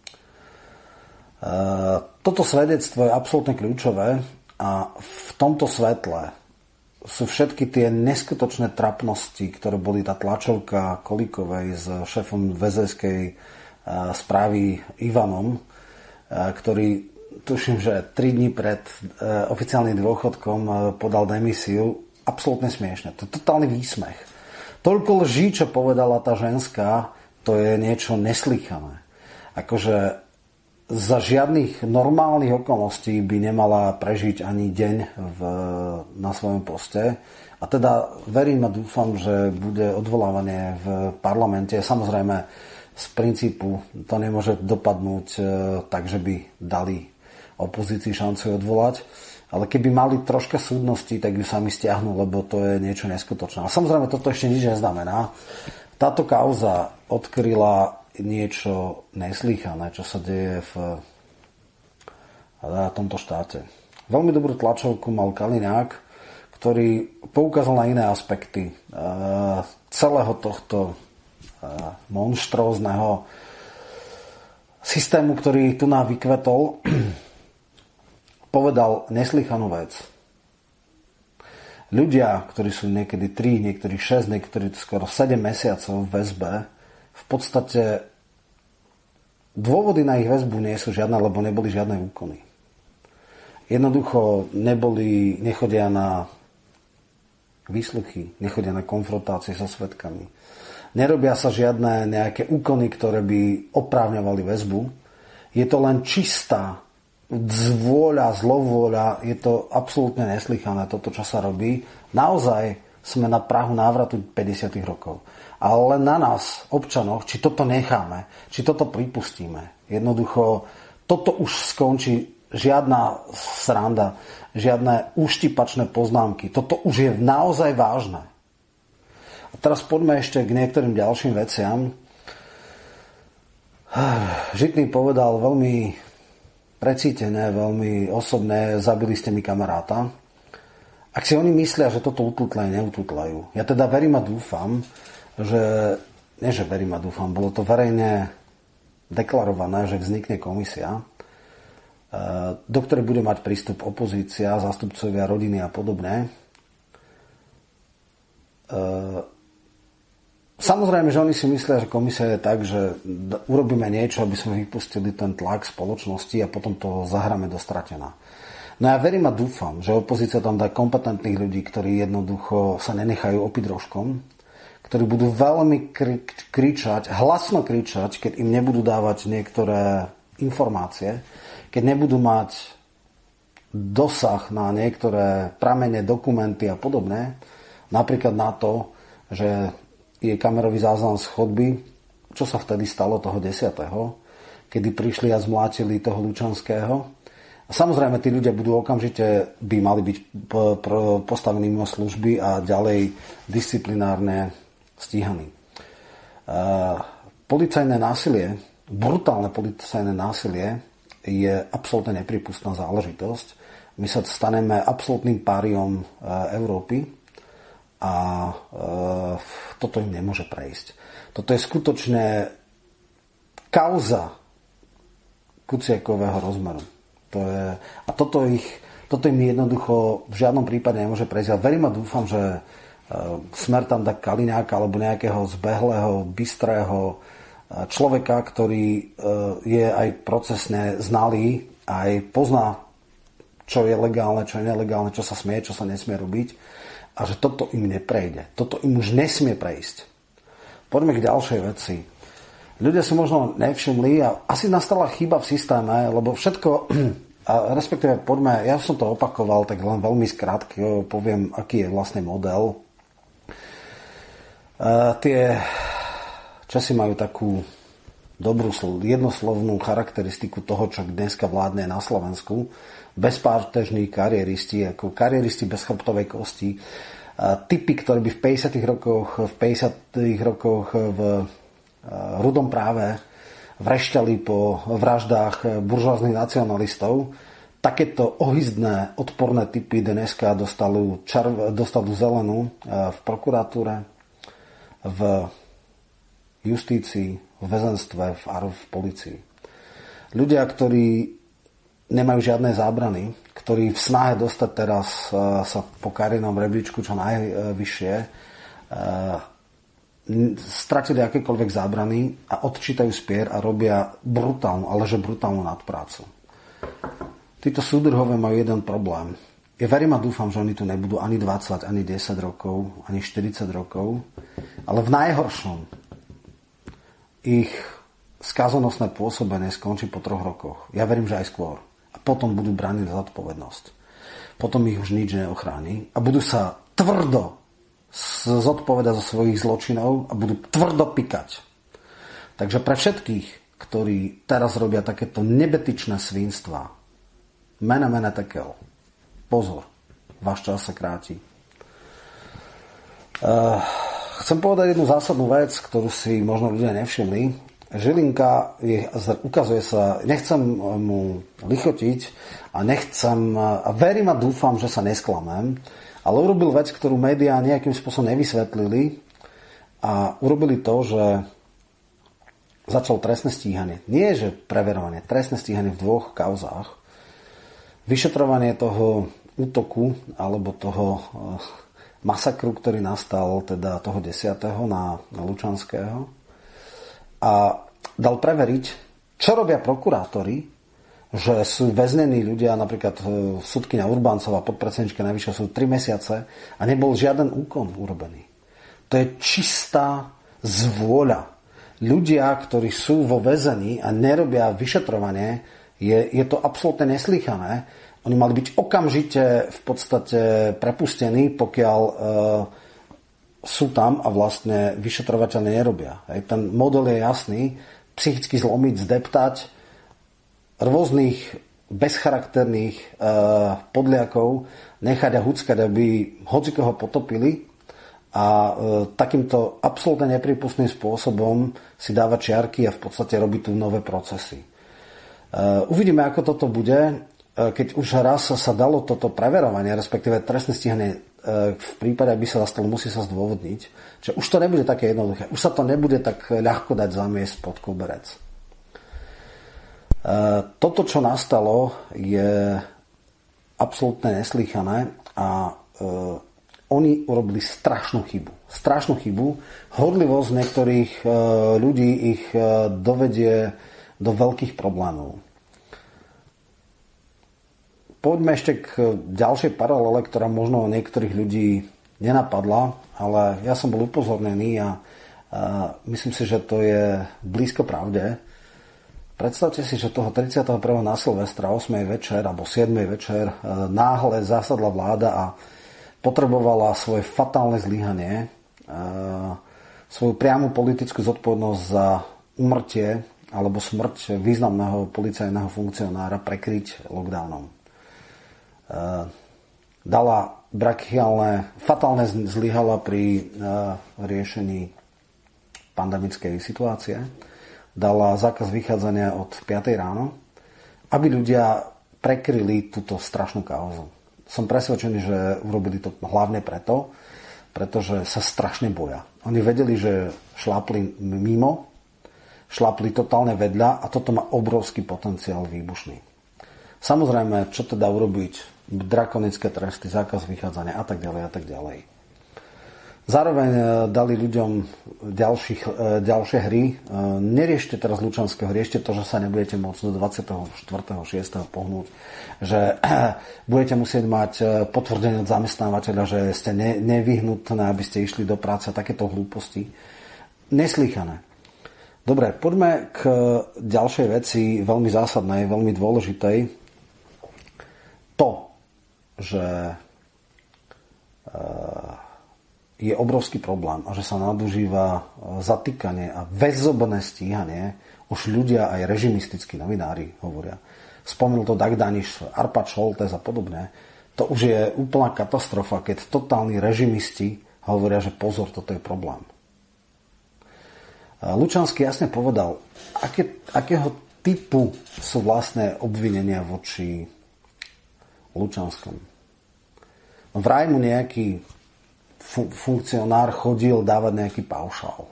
Toto svedectvo je absolútne kľúčové a v tomto svetle sú všetky tie neskutočné trapnosti, ktoré boli tá tlačovka Kolíkovej s šéfom väzenskej správy Ivanom, ktorý tuším, že 3 dní pred oficiálnym dôchodkom podal demisiu. Absolútne smiešne. To je totálny výsmech. Toľko lží, čo povedala tá ženská, to je niečo neslychané. Akože za žiadnych normálnych okolností by nemala prežiť ani deň na svojom poste. A teda verím a dúfam, že bude odvolávanie v parlamente. Samozrejme, z princípu to nemôže dopadnúť tak, že by dali opozícii šancu odvolať, ale keby mali troška súdnosti, tak ju sami stiahnu, lebo to je niečo neskutočné. A samozrejme, toto ešte nič neznamená. Táto kauza odkryla niečo neslýchané, čo sa deje v tomto štáte. Veľmi dobrú tlačovku mal Kaliňák, ktorý poukázal na iné aspekty celého tohto monštrózneho systému, ktorý tu nám vykvetol. Povedal neslychanú vec. Ľudia, ktorí sú niekedy 3, niektorí 6, niektorí skoro 7 mesiacov v väzbe, v podstate dôvody na ich väzbu nie sú žiadne, lebo neboli žiadne úkony. Jednoducho nechodia na výsluchy, nechodia na konfrontácie so svedkami. Nerobia sa žiadne nejaké úkony, ktoré by oprávňovali väzbu. Je to len čistá zvôľa, zlovôľa, je to absolútne neslychané toto, čo sa robí. Naozaj sme na prahu návratu 50. rokov. Ale len na nás, občanoch, či toto necháme, či toto pripustíme. Jednoducho, toto už skončí, žiadna sranda, žiadne uštipačné poznámky. Toto už je naozaj vážne. A teraz poďme ešte k niektorým ďalším veciam. Žitný povedal veľmi precítené, veľmi osobné, zabili ste mi kamaráta. Ak si oni myslia, že toto ututlajú, neututlajú. Ja teda verím a dúfam, bolo to verejne deklarované, že vznikne komisia, do ktorej bude mať prístup opozícia, zástupcovia rodiny a podobne. Samozrejme, že oni si myslia, že komisia je tak, že urobíme niečo, aby sme vypustili ten tlak spoločnosti a potom to zahráme do stratená. No ja verím a dúfam, že opozícia tam dá kompetentných ľudí, ktorí jednoducho sa nenechajú opiť rožkom, ktorí budú veľmi hlasno kričať, keď im nebudú dávať niektoré informácie, keď nebudú mať dosah na niektoré pramene, dokumenty a podobné, napríklad na to, že je kamerový záznam z chodby, čo sa vtedy stalo toho 10., kedy prišli a zmlátili toho Lučanského. A samozrejme, tí ľudia budú okamžite, by mali byť postavení mimo služby a ďalej disciplinárne stíhaní. Policajné násilie, brutálne policajné násilie je absolútne nepripustná záležitosť. My sa staneme absolútnym páriom Európy a toto im nemôže prejsť. Toto je skutočne kauza Kuciakového rozmeru. Toto im jednoducho v žiadnom prípade nemôže prejsť. Ja verím a dúfam, že Smer tam dá Kaliňáka alebo nejakého zbehlého, bystrého človeka, ktorý je aj procesne znalý, aj pozná, čo je legálne, čo je nelegálne, čo sa smie, čo sa nesmie robiť a že toto im neprejde. Toto im už nesmie prejsť. Poďme k ďalšej veci. Ľudia si možno nevšimli a asi nastala chyba v systéme, lebo všetko, a respektíve poďme, ja som to opakoval, tak len veľmi skrátke poviem, aký je vlastne model. Tie Česi majú takú dobrú jednoslovnú charakteristiku toho, čo dneska vládne na Slovensku. Bezpátežní kariéristi, ako kariéristi bez chrbtovej kosti. Typy, ktorí by v 50. rokoch v rudom práve vrešťali po vraždách buržoáznych nacionalistov. Takéto ohyzdné, odporné typy dneska dostanú zelenú v prokuratúre, v justícii, v väzenstve, v polícii. Ľudia, ktorí nemajú žiadne zábrany, ktorí v snahe dostať teraz sa po kariérnom rebríčku čo najvyššie, stratili akékoľvek zábrany a odčítajú spier a robia brutálnu, ale že brutálnu nadprácu. Títo súdruhovia majú jeden problém. Ja verím a dúfam, že oni tu nebudú ani 20, ani 10 rokov, ani 40 rokov, ale v najhoršom ich skazonosné pôsobenie skončí po 3 rokoch. Ja verím, že aj skôr. A potom budú brániť za zodpovednosť. Potom ich už nič neochráni a budú sa tvrdo zodpovedať za svojich zločinov a budú tvrdo pikať. Takže pre všetkých, ktorí teraz robia takéto nebetičné svinstva, mene tekel, pozor, váš čas sa kráti. Chcem povedať jednu zásadnú vec, ktorú si možno ľudia nevšimli. Žilinka ukazuje sa, nechcem mu lichotiť a verím a dúfam, že sa nesklamem, ale urobil vec, ktorú médiá nejakým spôsobom nevysvetlili a urobili to, že začal trestné stíhanie. Nie, že preverovanie, trestné stíhanie v 2 kauzách. Vyšetrovanie toho útoku alebo toho masakru, ktorý nastal teda toho 10. na Lučanského a dal preveriť, čo robia prokurátori, že sú väznení ľudia, napríklad sudkyňa Urbáncová, podpredsednička Najvyššieho súdu 3 mesiace a nebol žiaden úkon urobený. To je čistá zvôľa. Ľudia, ktorí sú vo väzení a nerobia vyšetrovanie, je to absolútne neslýchané. Oni mali byť okamžite v podstate prepustení, pokiaľ sú tam a vlastne vyšetrovateľne nerobia. Ten model je jasný. Psychicky zlomiť, zdeptať rôznych bezcharakterných podliakov, nechať a huckať, aby hocikoho potopili a takýmto absolútne nepripustným spôsobom si dávať čiarky a v podstate robiť tu nové procesy. Uvidíme, ako toto bude. Keď už raz sa dalo toto preverovanie, respektíve trestné stíhanie v prípade, ak by sa zastalo, musí sa zdôvodniť, že už to nebude také jednoduché. Už sa to nebude tak ľahko dať zamiesť pod koberec. Toto, čo nastalo, je absolútne neslýchané a oni urobili strašnú chybu. Strašnú chybu. Horlivosť niektorých ľudí ich dovedie do veľkých problémov. Poďme ešte k ďalšej paralele, ktorá možno niektorých ľudí nenapadla, ale ja som bol upozornený a myslím si, že to je blízko pravde. Predstavte si, že toho 31. na Silvestra 8. večer alebo 7. večer náhle zasadla vláda a potrebovala svoje fatálne zlyhanie, svoju priamu politickú zodpovednosť za úmrtie alebo smrť významného policajného funkcionára prekryť lockdownom. Dala fatálne zlyhala pri riešení pandemickej situácie. Dala zákaz vychádzania od 5. ráno, aby ľudia prekryli túto strašnú kauzu. Som presvedčený, že urobili to hlavne pretože sa strašne boja. Oni vedeli, že šlápli mimo, šlápli totálne vedľa a toto má obrovský potenciál výbušný. Samozrejme, čo teda urobiť? Drakonické tresty, zákaz vychádzania a tak ďalej a tak ďalej. Zároveň dali ľuďom ďalšie hry. Neriešte teraz Lučanského, riešte to, že sa nebudete môcť do 24.6. pohnúť, že budete musieť mať potvrdenie od zamestnávateľa, že ste nevyhnutné, aby ste išli do práce. Takéto hlúposti. Neslýchané. Dobre, poďme k ďalšej veci, veľmi zásadnej, veľmi dôležitej. To, že je obrovský problém a že sa nadužíva zatýkanie a väzobné stíhanie, už ľudia aj režimistickí novinári hovoria. Spomenul to Dag Daniš, Arpad Šoltes a podobne. To už je úplná katastrofa, keď totálni režimisti hovoria, že pozor, toto je problém. Lučanský jasne povedal, akého typu sú vlastné obvinenia voči Lučanskom. Vraj mu nejaký funkcionár chodil dávať nejaký paušál.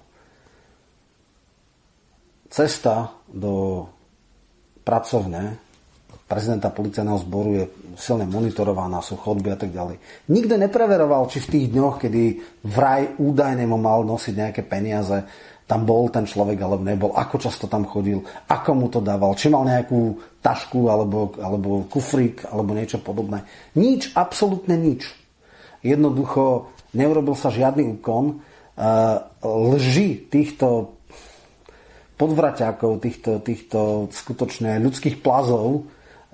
Cesta do pracovne prezidenta policajného zboru je silne monitorovaná, sú chodby a tak ďalej. Nikto nepreveroval, či v tých dňoch, kedy vraj údajne mu mal nosiť nejaké peniaze, tam bol ten človek alebo nebol, ako často tam chodil, ako mu to dával, či mal nejakú tašku alebo kufrík alebo niečo podobné. Nič, absolútne nič. Jednoducho neurobil sa žiadny úkon. Lži týchto podvraťákov, týchto skutočne ľudských plazov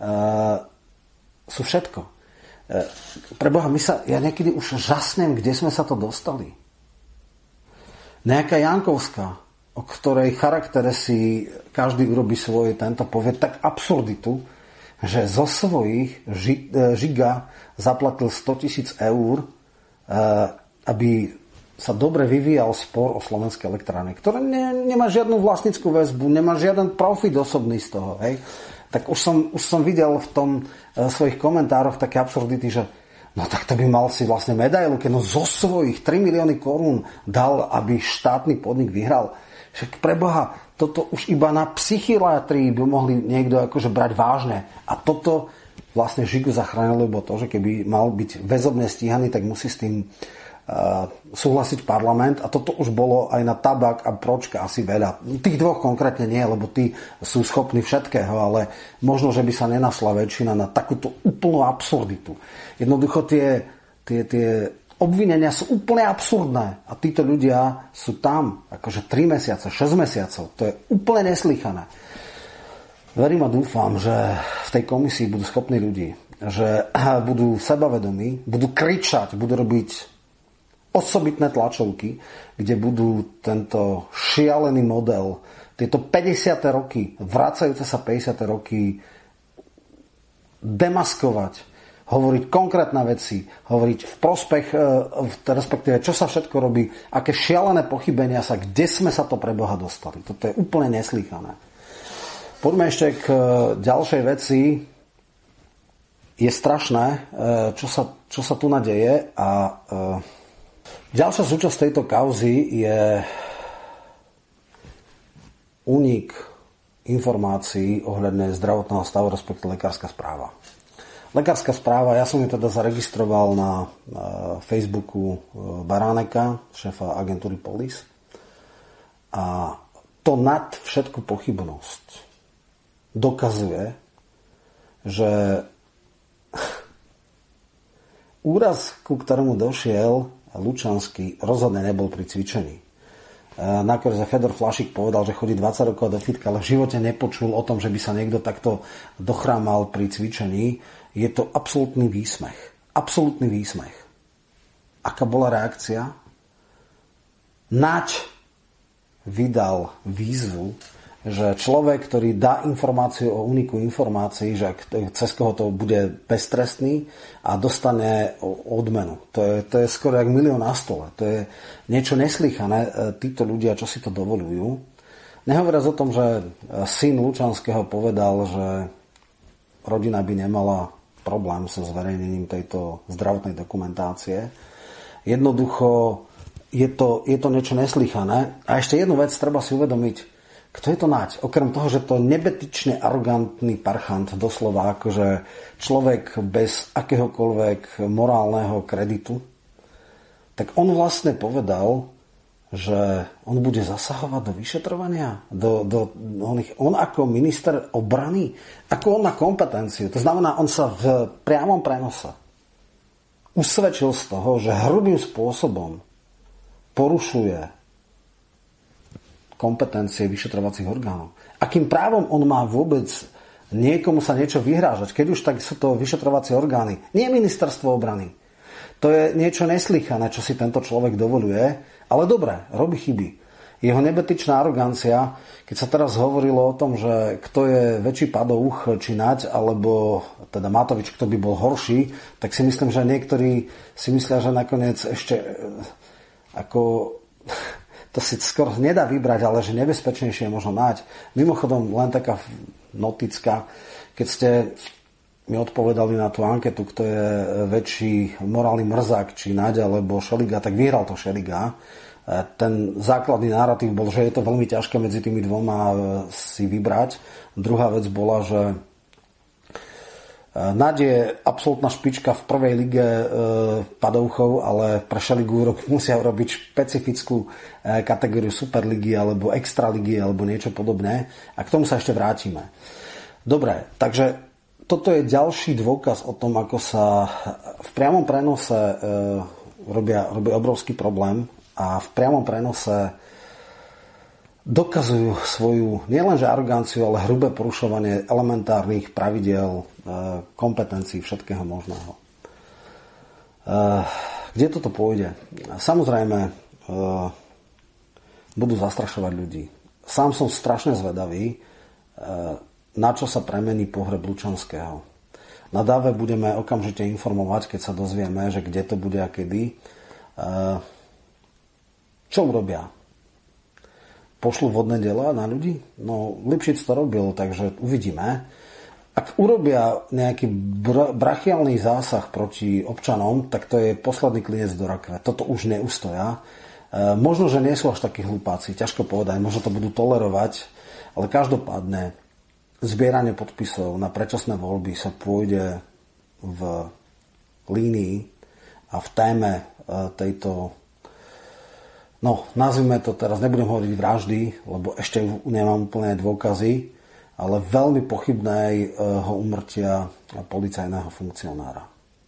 sú všetko. Preboha, ja niekedy už žasnem, kde sme sa to dostali. Nejaká Jankovská, o ktorej charaktere si každý urobí svoje, tento povie tak absurditu, že zo svojich žiga zaplatil 100 000 eur, aby sa dobre vyvíjal spor o Slovenskej elektrárne, ktoré nemá žiadnu vlastnickú väzbu, nemá žiaden profit osobný z toho. Hej. Tak už som videl v tom svojich komentároch také absurdity, že no tak to by mal si vlastne medailu, keď zo svojich 3 milióny korún dal, aby štátny podnik vyhral. Však preboha, toto už iba na psychiatrii by mohli niekto akože brať vážne. A toto vlastne Žigu zachránilo, lebo to, že keby mal byť väzobne stíhaný, tak musí s tým súhlasiť parlament a toto už bolo aj na Tabak a Pročka asi veľa. Tých dvoch konkrétne nie, lebo tí sú schopní všetkého, ale možno, že by sa nenašla väčšina na takúto úplnú absurditu. Jednoducho tie obvinenia sú úplne absurdné a títo ľudia sú tam akože 3 mesiace, 6 mesiacov. To je úplne neslýchané. Verím a dúfam, že v tej komisii budú schopní ľudí, že budú sebavedomí, budú kričať, budú robiť osobitné tlačovky, kde budú tento šialený model, tieto 50. roky, vracajúce sa 50. roky demaskovať, hovoriť konkrétne veci, hovoriť v prospech, respektíve čo sa všetko robí, aké šialené pochybenia sa, kde sme sa to pre Boha dostali. Toto je úplne neslýchané. Poďme ešte k ďalšej veci. Je strašné, čo sa tu nadeje a ďalšia súčasť tejto kauzy je únik informácií ohľadne zdravotného stavu, respektíve lekárska správa. Lekárska správa, ja som ju teda zaregistroval na Facebooku Baráneka, šéfa agentúry Polis. A to nad všetku pochybnosť dokazuje, že úraz, ku ktorému došiel Lučanský, rozhodne nebol pri cvičení. Nakoniec Fedor Flašík povedal, že chodí 20 rokov do fitka, ale v živote nepočul o tom, že by sa niekto takto dochrámal pri cvičení. Je to absolútny výsmech. Absolútny výsmech. Aká bola reakcia? Naď vydal výzvu, že človek, ktorý dá informáciu o úniku informácií, že cez koho to bude beztrestný a dostane odmenu. To je skoro jak milión na stole. To je niečo neslýchané. Títo ľudia, čo si to dovolujú. Nehovoriac o tom, že syn Lučanského povedal, že rodina by nemala problém so zverejnením tejto zdravotnej dokumentácie. Jednoducho je to niečo neslýchané. A ešte jednu vec treba si uvedomiť. Kto je to Naď? Okrem toho, že to nebetyčne arogantný parchant, doslova akože človek bez akéhokoľvek morálneho kreditu, tak on vlastne povedal, že on bude zasahovať do vyšetrovania, on ako minister obrany, ako on má kompetenciu. To znamená, on sa v priamom prenose usvedčil z toho, že hrubým spôsobom porušuje kompetencie vyšetrovacích orgánov. Akým právom on má vôbec niekomu sa niečo vyhrážať? Keď už, tak sú to vyšetrovacie orgány. Nie ministerstvo obrany. To je niečo neslychané, čo si tento človek dovoľuje. Ale dobre, robí chyby. Jeho nebetyčná arogancia, keď sa teraz hovorilo o tom, že kto je väčší padouch, či Naď, alebo teda Matovič, kto by bol horší, tak si myslím, že niektorí si myslia, že nakoniec ešte ako to si skoro nedá vybrať, ale že nebezpečnejšie je možno Naď. Mimochodom, len taká notická, keď ste mi odpovedali na tú anketu, kto je väčší morálny mrzák, či Naď alebo Šeliga, tak vyhral to Šeliga. Ten základný narratív bol, že je to veľmi ťažké medzi tými dvoma si vybrať. Druhá vec bola, že Naď je absolútna špička v prvej lige padouchov, ale pre Šeligu musia robiť špecifickú kategóriu superligy alebo extraligy alebo niečo podobné. A k tomu sa ešte vrátime. Dobre, takže toto je ďalší dôkaz o tom, ako sa v priamom prenose robí obrovský problém a v priamom prenose dokazujú svoju nielenže aroganciu, ale hrubé porušovanie elementárnych pravidiel, kompetencií všetkého možného. Kde toto pôjde? Samozrejme budú zastrašovať ľudí. Sám som strašne zvedavý, na čo sa premení pohreb Lučanského. Na dáve budeme okamžite informovať, keď sa dozvieme, že kde to bude a kedy. Čo urobia? Pošlu vodné diela na ľudí? No, Lipšic to robil, takže uvidíme. Ak urobia nejaký brachiálny zásah proti občanom, tak to je posledný klinec do rakve. Toto už neustoja. Možno, že nie sú až takí hlupáci, ťažko povedať, možno to budú tolerovať, ale každopádne zbieranie podpisov na predčasné voľby sa pôjde v línii a v téme tejto, no nazvime to teraz, nebudem hovoriť vraždy, lebo ešte nemám úplné dôkazy, ale veľmi pochybného úmrtia policajného funkcionára.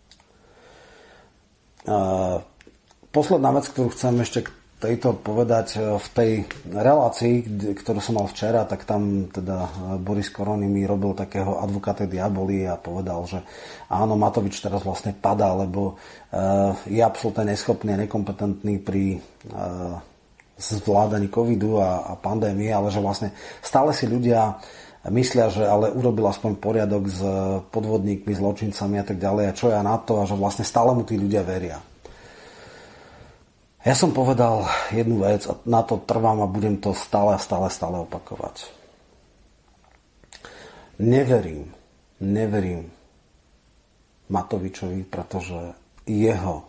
Posledná vec, ktorú chcem ešte k tejto povedať, v tej relácii, ktorú som mal včera, tak tam teda Boris Koroni mi robil takého advokáta diaboli a povedal, že áno, Matovič teraz vlastne padá, lebo je absolútne neschopný a nekompetentný pri zvládaní covidu a pandémie, ale že vlastne stále si ľudia myslia, že ale urobil aspoň poriadok s podvodníkmi, zločincami a tak ďalej a čo ja na to a že vlastne stále mu tí ľudia veria. Ja som povedal jednu vec a na to trvám a budem to stále opakovať. Neverím Matovičovi, pretože jeho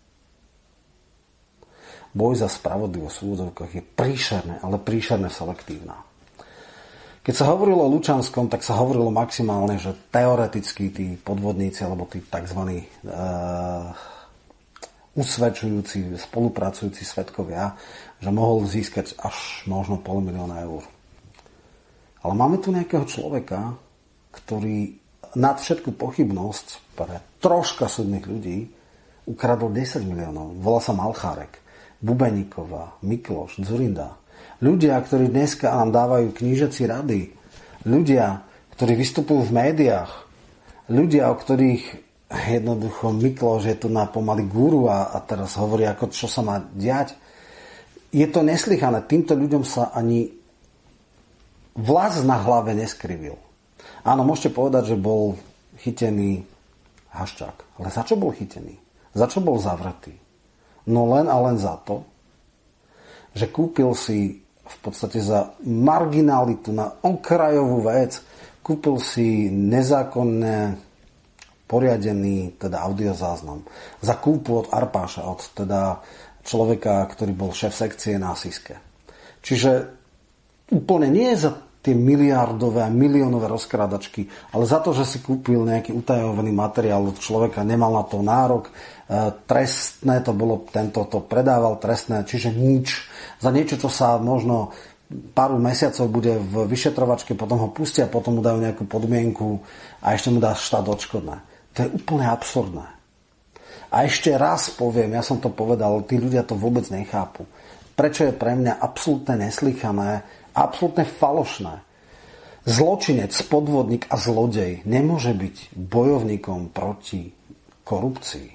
boj za spravodlivosť v úvodzovkách je príšerné, ale príšerne selektívna. Keď sa hovorilo o Lučanskom, tak sa hovorilo maximálne, že teoreticky tí podvodníci alebo tí tzv. Usvedčujúci, spolupracujúci svedkovia, že mohol získať až možno 500 000 eur. Ale máme tu nejakého človeka, ktorý nad všetku pochybnosť pre troška súdnych ľudí ukradol 10 miliónov. Volá sa Malchárek, Bubeníková, Mikloš, Dzurinda. Ľudia, ktorí dneska nám dávajú knížací rady. Ľudia, ktorí vystupujú v médiách. Ľudia, o ktorých jednoducho Mikloš je tu na pomaly guru a teraz hovorí, ako čo sa má diať. Je to neslychané. Týmto ľuďom sa ani vlas na hlave neskrivil. Áno, môžete povedať, že bol chytený Haščák. Ale za čo bol chytený? Za čo bol zavretý? No len a len za to, že kúpil si v podstate za marginalitu na okrajovú vec, kúpil si nezákonné poriadený teda audiozáznam za kúpu od Arpáša, od teda človeka, ktorý bol šéf sekcie na Siske. Čiže úplne nie za tie miliardové a miliónové rozkrádačky, ale za to, že si kúpil nejaký utajovaný materiál od človeka, nemal na to nárok, trestné to bolo, tento to predával, trestné, čiže nič. Za niečo, čo sa možno pár mesiacov bude v vyšetrovačke, potom ho pustia, potom mu dajú nejakú podmienku a ešte mu dá štát odškodné. To je úplne absurdné. A ešte raz poviem, ja som to povedal, tí ľudia to vôbec nechápu. Prečo je pre mňa absolútne neslychané, absolútne falošné. Zločinec, podvodník a zlodej nemôže byť bojovníkom proti korupcii.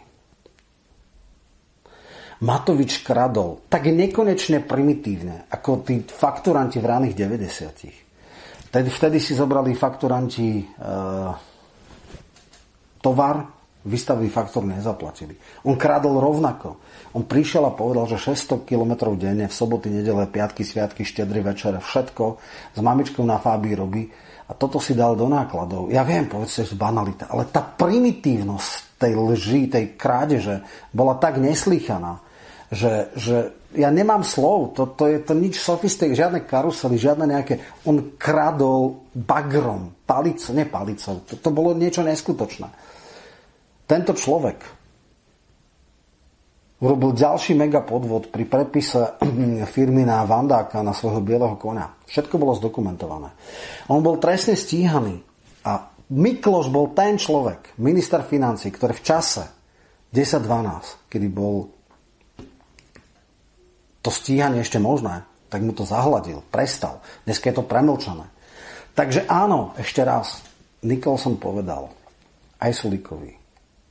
Matovič kradol tak nekonečne primitívne, ako tí fakturanti v raných 90. Vtedy si zobrali fakturanti tovar, vystavili faktúru, nezaplatili. On kradol rovnako. On prišiel a povedal, že 600 km denne, v soboty, nedele, piatky, sviatky, štedrý večer, všetko s mamičkou na Fábii robí a toto si dal do nákladov. Ja viem, povedzte, že banalita, ale tá primitívnosť tej lži, tej krádeže bola tak neslýchaná, že ja nemám slov, to je to nič sofistik, žiadne karusely, žiadne nejaké, on kradol bagrom, palicou, to bolo niečo neskutočné. Tento človek urobil ďalší mega podvod pri prepise firmy na Vandáka, na svojho bieleho koňa. Všetko bolo zdokumentované. On bol trestne stíhaný a Mikloš bol ten človek, minister financií, ktorý v čase 10-12, kedy bol to stíhanie ešte možné, tak mu to zahladil, prestal. Dneska je to premlčané. Takže áno, ešte raz, Nicholson povedal, aj Sulíkovi,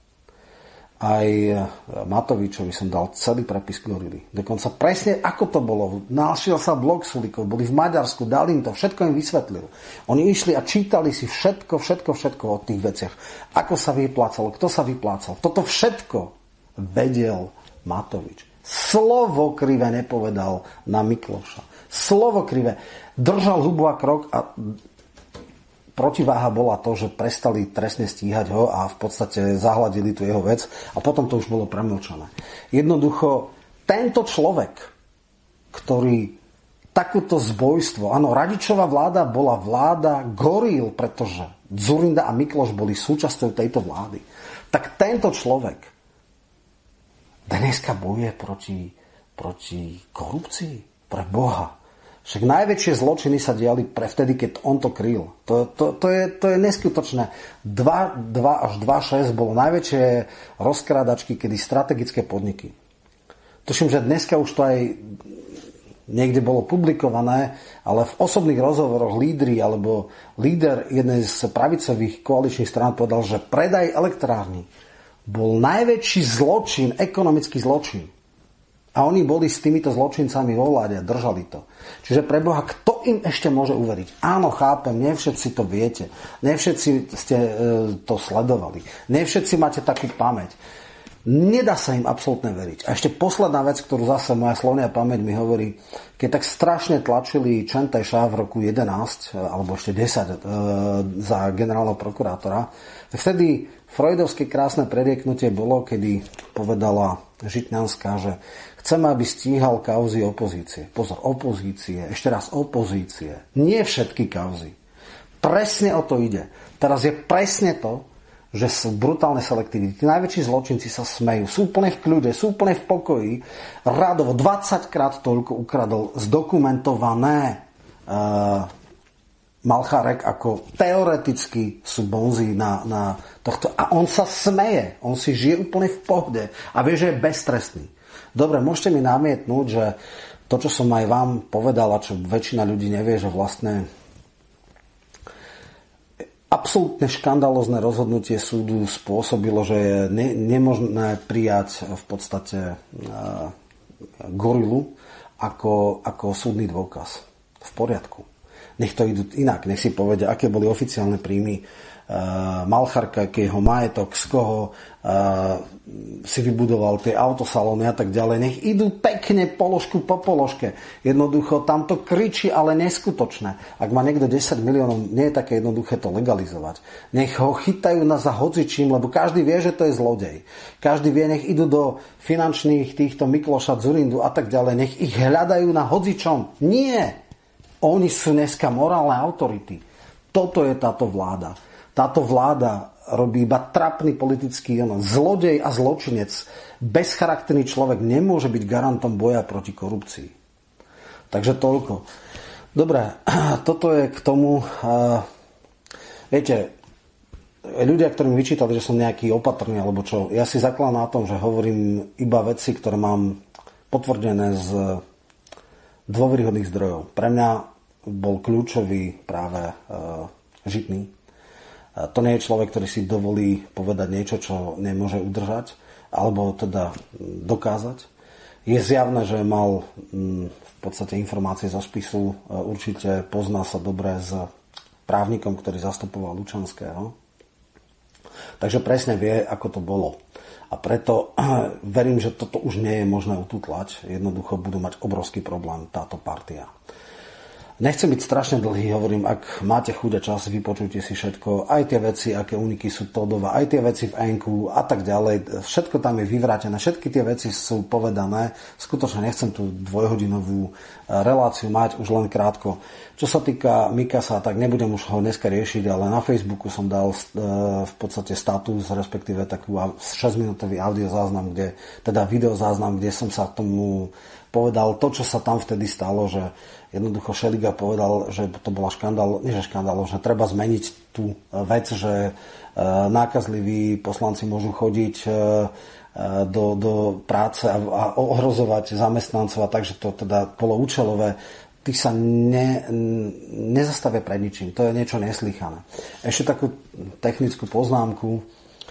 aj Matovičovi som dal celý prepis Gorily. Dokonca presne ako to bolo. Našiel sa blog Sulíkov, boli v Maďarsku, dal im to, všetko im vysvetlil. Oni išli a čítali si všetko o tých veciach. Ako sa vyplácalo, kto sa vyplácal. Toto všetko vedel Matovič. Slovo krivé nepovedal na Mikloša. Slovo krivé. Držal hubu a krok a protiváha bola to, že prestali trestne stíhať ho a v podstate zahladili tú jeho vec a potom to už bolo premlčané. Jednoducho, tento človek, ktorý takúto zbojstvo, áno, Radičová vláda bola vláda goril, pretože Dzurinda a Mikloš boli súčasťou tejto vlády, tak tento človek dneska bojuje proti korupcii, pre Boha. Však najväčšie zločiny sa diali vtedy, keď on to kryl. To je neskutočné. 2 až 2,6 bolo najväčšie rozkrádačky, kedy strategické podniky. Tuším, že dneska už to aj niekde bolo publikované, ale v osobných rozhovoroch líder jednej z pravicových koaličných strán povedal, že predaj elektrárny bol najväčší zločin, ekonomický zločin. A oni boli s týmito zločincami vo vláde a držali to. Čiže pre Boha, kto im ešte môže uveriť? Áno, chápem, nie všetci to viete. Nie všetci ste to sledovali. Nie všetci máte takú pamäť. Nedá sa im absolútne veriť. A ešte posledná vec, ktorú zase moja slovná pamäť mi hovorí, keď tak strašne tlačili Čenteša v roku 11, alebo ešte 10 za generálneho prokurátora, vtedy freudovské krásne prerieknutie bolo, kedy povedala Žitňanská, že chceme, aby stíhal kauzy opozície. Pozor, opozície, ešte raz opozície. Nie všetky kauzy. Presne o to ide. Teraz je presne to, že sú brutálne selektivity. Tí najväčší zločinci sa smejú. Sú úplne v kľude, sú úplne v pokoji. Radovo 20 krát toľko ukradol zdokumentované Malchárek, ako teoreticky sú bonzi na tohto. A on sa smeje. On si žije úplne v pohode. A vie, že je beztrestný. Dobre, môžete mi namietnúť, že to, čo som aj vám povedal, a čo väčšina ľudí nevie, že vlastne absolútne škandalózne rozhodnutie súdu spôsobilo, že je nemožné prijať v podstate gorilu ako súdny dôkaz. V poriadku. Nech to idú inak, nech si povedia, aké boli oficiálne príjmy Malchárka, aký jeho majetok, z koho si vybudoval tie autosalóny a tak ďalej. Nech idú pekne položku po položke. Jednoducho tam to kričí, ale neskutočné. Ak má niekto 10 miliónov, nie je také jednoduché to legalizovať. Nech ho chytajú za hocičím, lebo každý vie, že to je zlodej. Každý vie, nech idú do finančných týchto Mikloša, Dzurindu a tak ďalej. Nech ich hľadajú na hocičom. Nie! Oni sú dneska morálne autority. Toto je táto vláda. Táto vláda robí iba trapný politický zlodej a zločinec. Bezcharakterný človek nemôže byť garantom boja proti korupcii. Takže toľko. Dobre, toto je k tomu. Viete, ľudia, ktorí mi vyčítali, že som nejaký opatrný alebo čo, ja si zakladám na tom, že hovorím iba veci, ktoré mám potvrdené z dôveryhodných zdrojov. Pre mňa bol kľúčový práve Žitný. To nie je človek, ktorý si dovolí povedať niečo, čo nemôže udržať, alebo teda dokázať. Je zjavné, že mal v podstate informácie zo spisu, určite pozná sa dobre s právnikom, ktorý zastupoval Lučanského. Takže presne vie, ako to bolo. A preto verím, že toto už nie je možné ututlať. Jednoducho budú mať obrovský problém táto partia. Nechcem byť strašne dlhý, hovorím, ak máte chuť a čas, vypočujte si všetko, aj tie veci, aké úniky sú Todova, aj tie veci v Enku a tak ďalej. Všetko tam je vyvrátené, všetky tie veci sú povedané. Skutočne nechcem tú dvojhodinovú reláciu mať, už len krátko. Čo sa týka Mikasa, tak nebudem už ho dneska riešiť, ale na Facebooku som dal v podstate status, respektíve takú 6-minútový audiozáznam, teda videozáznam, kde som sa tomu povedal to, čo sa tam vtedy stalo, že jednoducho Šeliga povedal, že to bola že treba zmeniť tú vec, že nákazliví poslanci môžu chodiť do práce a ohrozovať zamestnancov, a takže to teda bolo účelové. Tí sa nezastavia pred ničím. To je niečo neslýchané. Ešte takú technickú poznámku.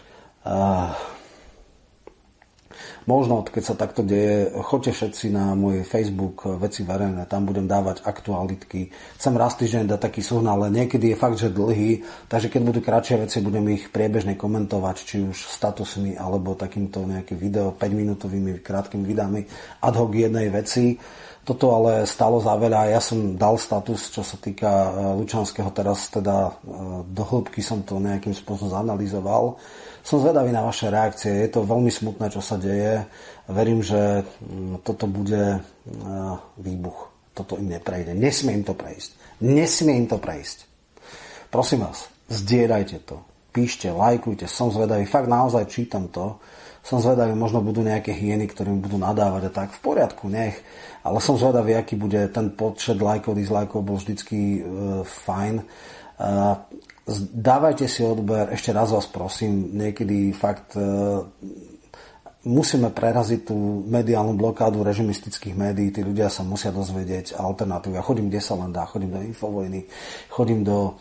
Možno, keď sa takto deje, choďte všetci na môj Facebook Veci verejné, tam budem dávať aktualitky. Chcem raz týždeň dať taký súhrn, ale niekedy je fakt, že dlhý, takže keď budú kratšie veci, budem ich priebežne komentovať, či už statusmi, alebo takýmto nejaké video, 5-minútovými krátkými videami ad hoc jednej veci. Toto ale stálo za veľa. Ja som dal status, čo sa týka Lučanského, teraz teda do hĺbky som to nejakým spôsobom zanalizoval. Som zvedavý na vaše reakcie. Je to veľmi smutné, čo sa deje. Verím, že toto bude výbuch. Toto im neprejde. Nesmie im to prejsť. Prosím vás, zdieľajte to. Píšte, lajkujte. Som zvedavý. Fakt naozaj čítam to. Som zvedavý, možno budú nejaké hyeny, ktorým budú nadávať a tak. V poriadku, nech. Ale som zvedavý, aký bude ten počet lajkov, dislajkov, bol vždycky fajn. Dávajte si odber, ešte raz vás prosím, niekedy fakt musíme preraziť tú mediálnu blokádu režimistických médií, tí ľudia sa musia dozvedieť alternatívy. Ja chodím, kde sa len dá, chodím do Infovojny, chodím do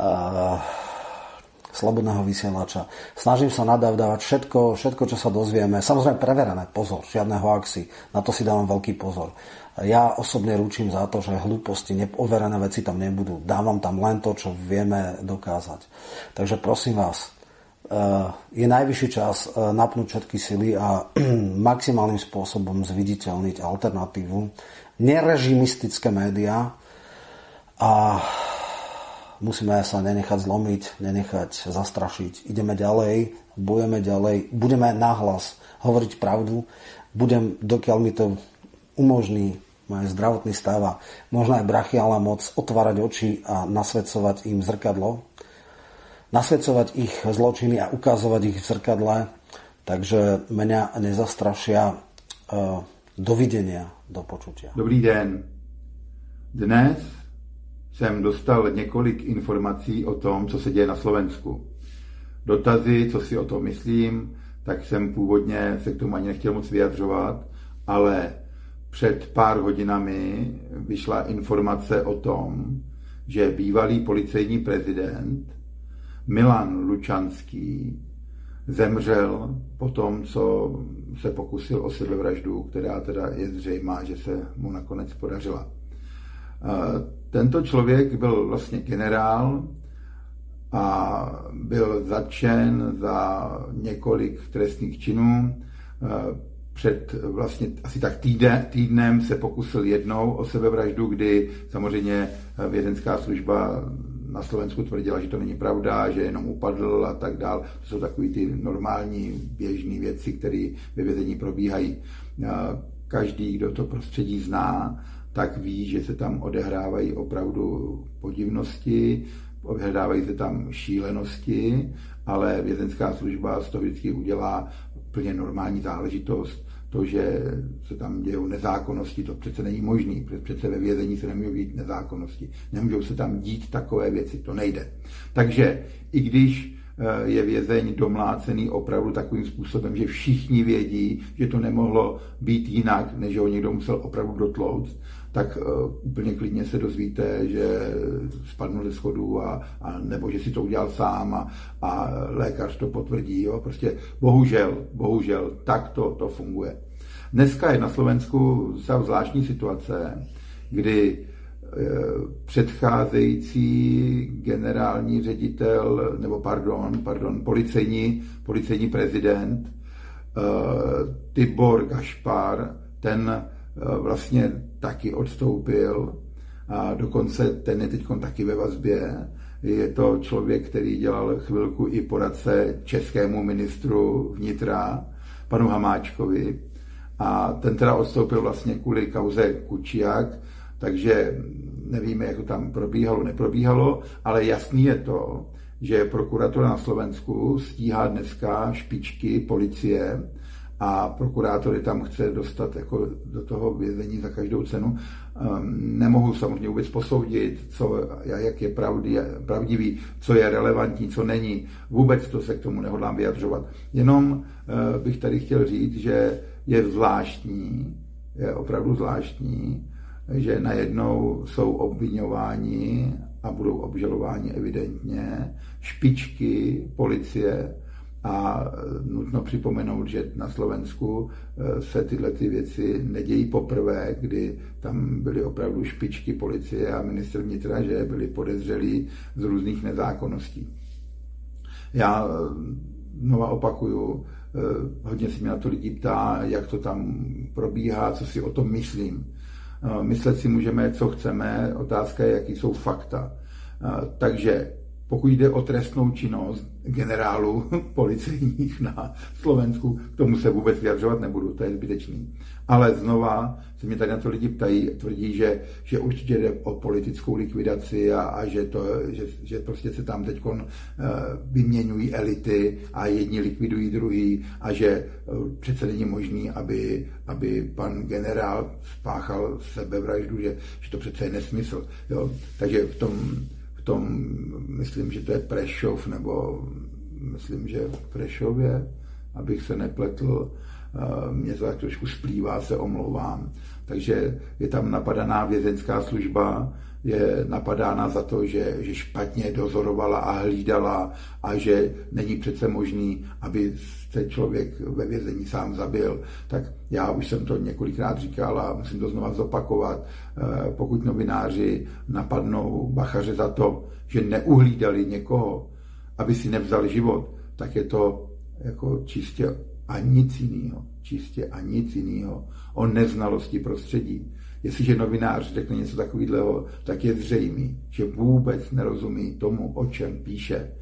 Slobodného vysielača. Snažím sa nadávať všetko, čo sa dozvieme. Samozrejme preverené, pozor, žiadne hoaxy, na to si dávam veľký pozor. Ja osobne ručím za to, že hlúposti, overené veci tam nebudú. Dávam tam len to, čo vieme dokázať. Takže prosím vás, je najvyšší čas napnúť všetky sily a maximálnym spôsobom zviditeľniť alternatívu. Nerežimistické médiá a musíme sa nenechať zlomiť, nenechať zastrašiť. Ideme ďalej, bojujeme ďalej, budeme nahlas hovoriť pravdu, dokiaľ mi to umožní moje zdravotný stav a možno aj brachiálna moc otvárať oči a nasvedcovať im zrkadlo, nasvedcovať ich zločiny a ukazovať ich v zrkadle, takže mňa nezastrašia. Dovidenia, do počutia. Dobrý den. Dnes jsem dostal několik informací o tom, co se děje na Slovensku. Dotazy, co si o tom myslím, tak jsem původně se k tomu ani nechtěl moc vyjadřovat, ale před pár hodinami vyšla informace o tom, že bývalý policejní prezident Milan Lučanský zemřel po tom, co se pokusil o sebevraždu, která teda je zřejmá, že se mu nakonec podařila. Tento člověk byl vlastně generál a byl zatčen za několik trestných činů. Před vlastně asi tak týdnem se pokusil jednou o sebevraždu, kdy samozřejmě vězenská služba na Slovensku tvrdila, že to není pravda, že jenom upadl a tak dál. To jsou takový ty normální běžné věci, které ve vězení probíhají. Každý, kdo to prostředí zná, tak ví, že se tam odehrávají opravdu podivnosti, odehrávají se tam šílenosti, ale vězenská služba z toho vždycky udělá plně normální záležitost. To, že se tam dějou nezákonnosti, to přece není možný. Přece ve vězení se nemůžou dít nezákonnosti. Nemůžou se tam dít takové věci, to nejde. Takže i když je vězeň domlácený opravdu takovým způsobem, že všichni vědí, že to nemohlo být jinak, než ho někdo musel opravdu dotlouct, tak úplně klidně se dozvíte, že spadnul ze schodů a nebo že si to udělal sám a lékař to potvrdí. Jo? Prostě bohužel, tak to funguje. Dneska je na Slovensku zvláštní situace, kdy předcházející generální ředitel, nebo pardon, policejní prezident Tibor Gašpar, ten vlastně taky odstoupil a dokonce ten je teď taky ve vazbě. Je to člověk, který dělal chvilku i poradce českému ministru vnitra, panu Hamáčkovi, a ten teda odstoupil vlastně kvůli kauze Kuciak, takže nevíme, jak to tam probíhalo, neprobíhalo, ale jasný je to, že prokuratura na Slovensku stíhá dneska špičky policie a prokurátor je tam chce dostat jako do toho vězení za každou cenu. Nemohu samozřejmě vůbec posoudit, jak je pravdivý, co je relevantní, co není. Vůbec to se k tomu nehodlám vyjadřovat. Jenom bych tady chtěl říct, že je opravdu zvláštní, že najednou jsou obviňováni a budou obžalováni evidentně špičky policie a nutno připomenout, že na Slovensku se tyhle ty věci nedějí poprvé, kdy tam byly opravdu špičky policie a ministr vnitra, že byli podezřelí z různých nezákonností. Já znova opakuju, hodně se mě na to lidi ptá, jak to tam probíhá, co si o tom myslím. Myslet si můžeme, co chceme, otázka je, jaký jsou fakta. Takže pokud jde o trestnou činnost generálů policejních na Slovensku, k tomu se vůbec vyjadřovat nebudu, to je zbytečný. Ale znova se mě tady na to lidi ptají, tvrdí, že určitě jde o politickou likvidaci a že prostě se tam teď vyměňují elity a jedni likvidují druhý a že přece není možný, aby pan generál spáchal sebevraždu, že to přece je nesmysl. Jo? Takže v tom myslím, že to je Prešov, nebo myslím, že v Prešově, abych se nepletl, mě to tak trošku splývá, se omlouvám. Takže je tam napadaná vězeňská služba, je napadána za to, že špatně dozorovala a hlídala a že není přece možný, aby se člověk ve vězení sám zabil. Tak já už jsem to několikrát říkal a musím to znova zopakovat. Pokud novináři napadnou Bachaře za to, že neuhlídali někoho, aby si nevzal život, tak je to jako čistě a nic jinýho o neznalosti prostředí. Jestliže novinář řekne něco takového, tak je zřejmý, že vůbec nerozumí tomu, o čem píše.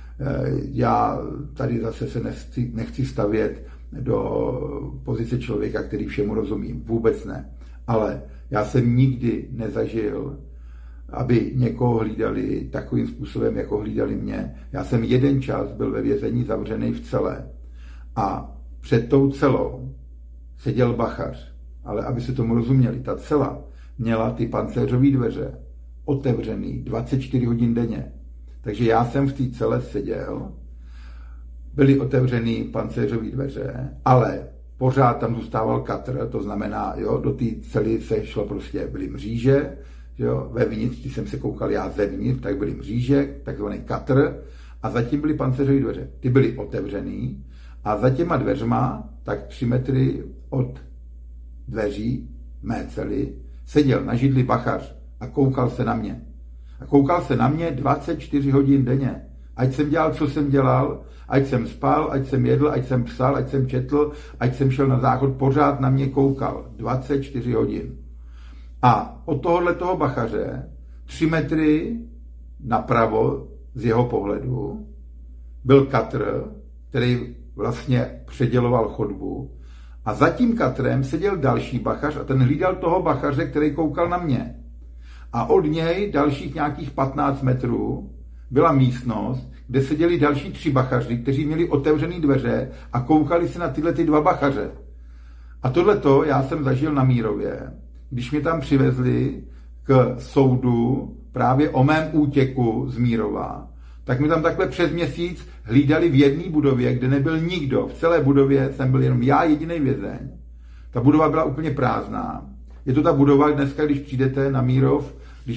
Já tady zase se nechci stavět do pozice člověka, který všemu rozumí. Vůbec ne. Ale já jsem nikdy nezažil, aby někoho hlídali takovým způsobem, jako hlídali mě. Já jsem jeden čas byl ve vězení zavřený v cele a před tou celou seděl Bachař. Ale aby se tomu rozuměli, ta cela měla ty pancéřové dveře otevřený 24 hodin denně. Takže já jsem v té cele seděl, byly otevřený pancéřové dveře, ale pořád tam zůstával katr, to znamená, do té cely se šlo prostě, byly mříže, vevnitř, když jsem se koukal já zevnitř, tak byly mříže, takzvaný katr, a zatím byly pancéřové dveře. Ty byly otevřený a za těma dveřma, tak 3 metry od dveří mé cely seděl na židli Bachař a koukal se na mě. A koukal se na mě 24 hodin denně. Ať jsem dělal, co jsem dělal, ať jsem spal, ať jsem jedl, ať jsem psal, ať jsem četl, ať jsem šel na záchod, pořád na mě koukal. 24 hodin. A od toho Bachaře 3 metry napravo z jeho pohledu byl katr, který vlastně předěloval chodbu A za tím katrem seděl další bachař a ten hlídal toho bachaře, který koukal na mě. A od něj dalších nějakých 15 metrů byla místnost, kde seděli další 3 bachaři, kteří měli otevřené dveře a koukali se na tyhle 2 bachaře. A tohleto já jsem zažil na Mírově, když mě tam přivezli k soudu právě o mém útěku z Mírova, tak mi tam takhle přes měsíc hlídali v jedné budově, kde nebyl nikdo. V celé budově jsem byl jenom já jediný vězeň. Ta budova byla úplně prázdná. Je to ta budova, dneska, když přijdete na Mírov,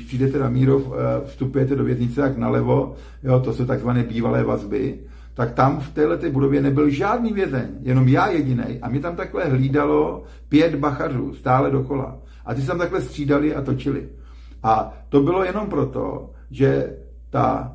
vstupujete do věznice tak nalevo, jo, to jsou takzvané bývalé vazby, tak tam v této budově nebyl žádný vězeň, jenom já jedinej. A mě tam takhle hlídalo 5 bachařů, stále dokola. A ty se tam takhle střídali a točili. A to bylo jenom proto, že ta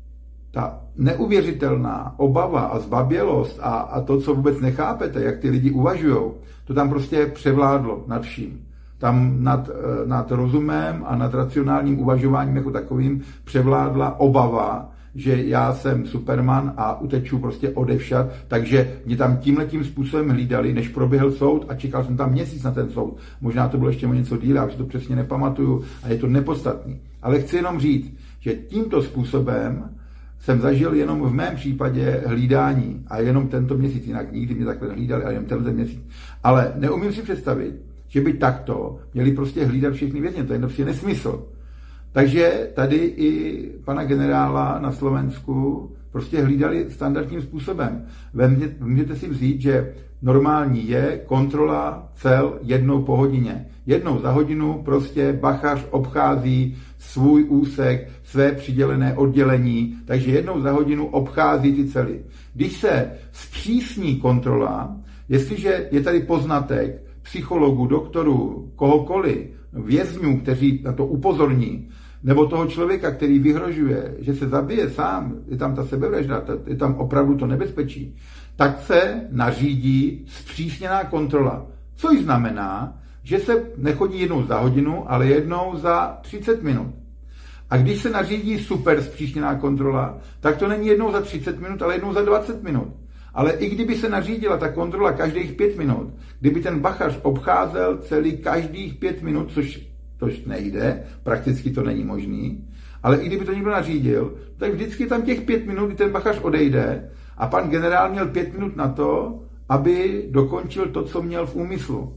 neuvěřitelná obava a zbabělost a to, co vůbec nechápete, jak ty lidi uvažujou, to tam prostě převládlo nad vším. Tam nad rozumem a nad racionálním uvažováním jako takovým převládla obava, že já jsem Superman a uteču prostě odevšad, takže mě tam tímhletím způsobem hlídali, než proběhl soud a čekal jsem tam měsíc na ten soud. Možná to bylo ještě o něco díl, já už to přesně nepamatuju a je to nepodstatný. Ale chci jenom říct, že tímto způsobem jsem zažil jenom v mém případě hlídání a jenom tento měsíc, jinak nikdy mě takhle hlídali, ale jenom tenhle měsíc. Ale neumím si představit, že by takto měli prostě hlídat všechny vězně, to je prostě nesmysl. Takže tady i pana generála na Slovensku prostě hlídali standardním způsobem. Můžete si vzít, že normální je kontrola cel jednou po hodině. Jednou za hodinu prostě bachař obchází svůj úsek, své přidělené oddělení, takže jednou za hodinu obchází ty cely. Když se zpřísní kontrola, jestliže je tady poznatek psychologů, doktorů, kohokoliv, vězňů, kteří na to upozorní, nebo toho člověka, který vyhrožuje, že se zabije sám, je tam ta sebevražda, je tam opravdu to nebezpečí, tak se nařídí zpřísněná kontrola. Což znamená, že se nechodí jednou za hodinu, ale jednou za 30 minut. A když se nařídí super zpřísněná kontrola, tak to není jednou za 30 minut, ale jednou za 20 minut. Ale i kdyby se nařídila ta kontrola každých 5 minut, kdyby ten bachař obcházel celý každých 5 minut, což nejde, prakticky to není možný, ale i kdyby to někdo nařídil, tak vždycky tam těch 5 minut, kdy ten bachař odejde a pan generál měl 5 minut na to, aby dokončil to, co měl v úmyslu.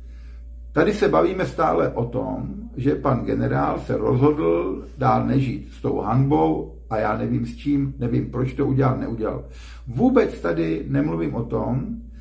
Tady se bavíme stále o tom, že pan generál se rozhodl dál nežít s tou hanbou a já nevím s čím, nevím proč to udělal, neudělal. Vůbec tady nemluvím o tom,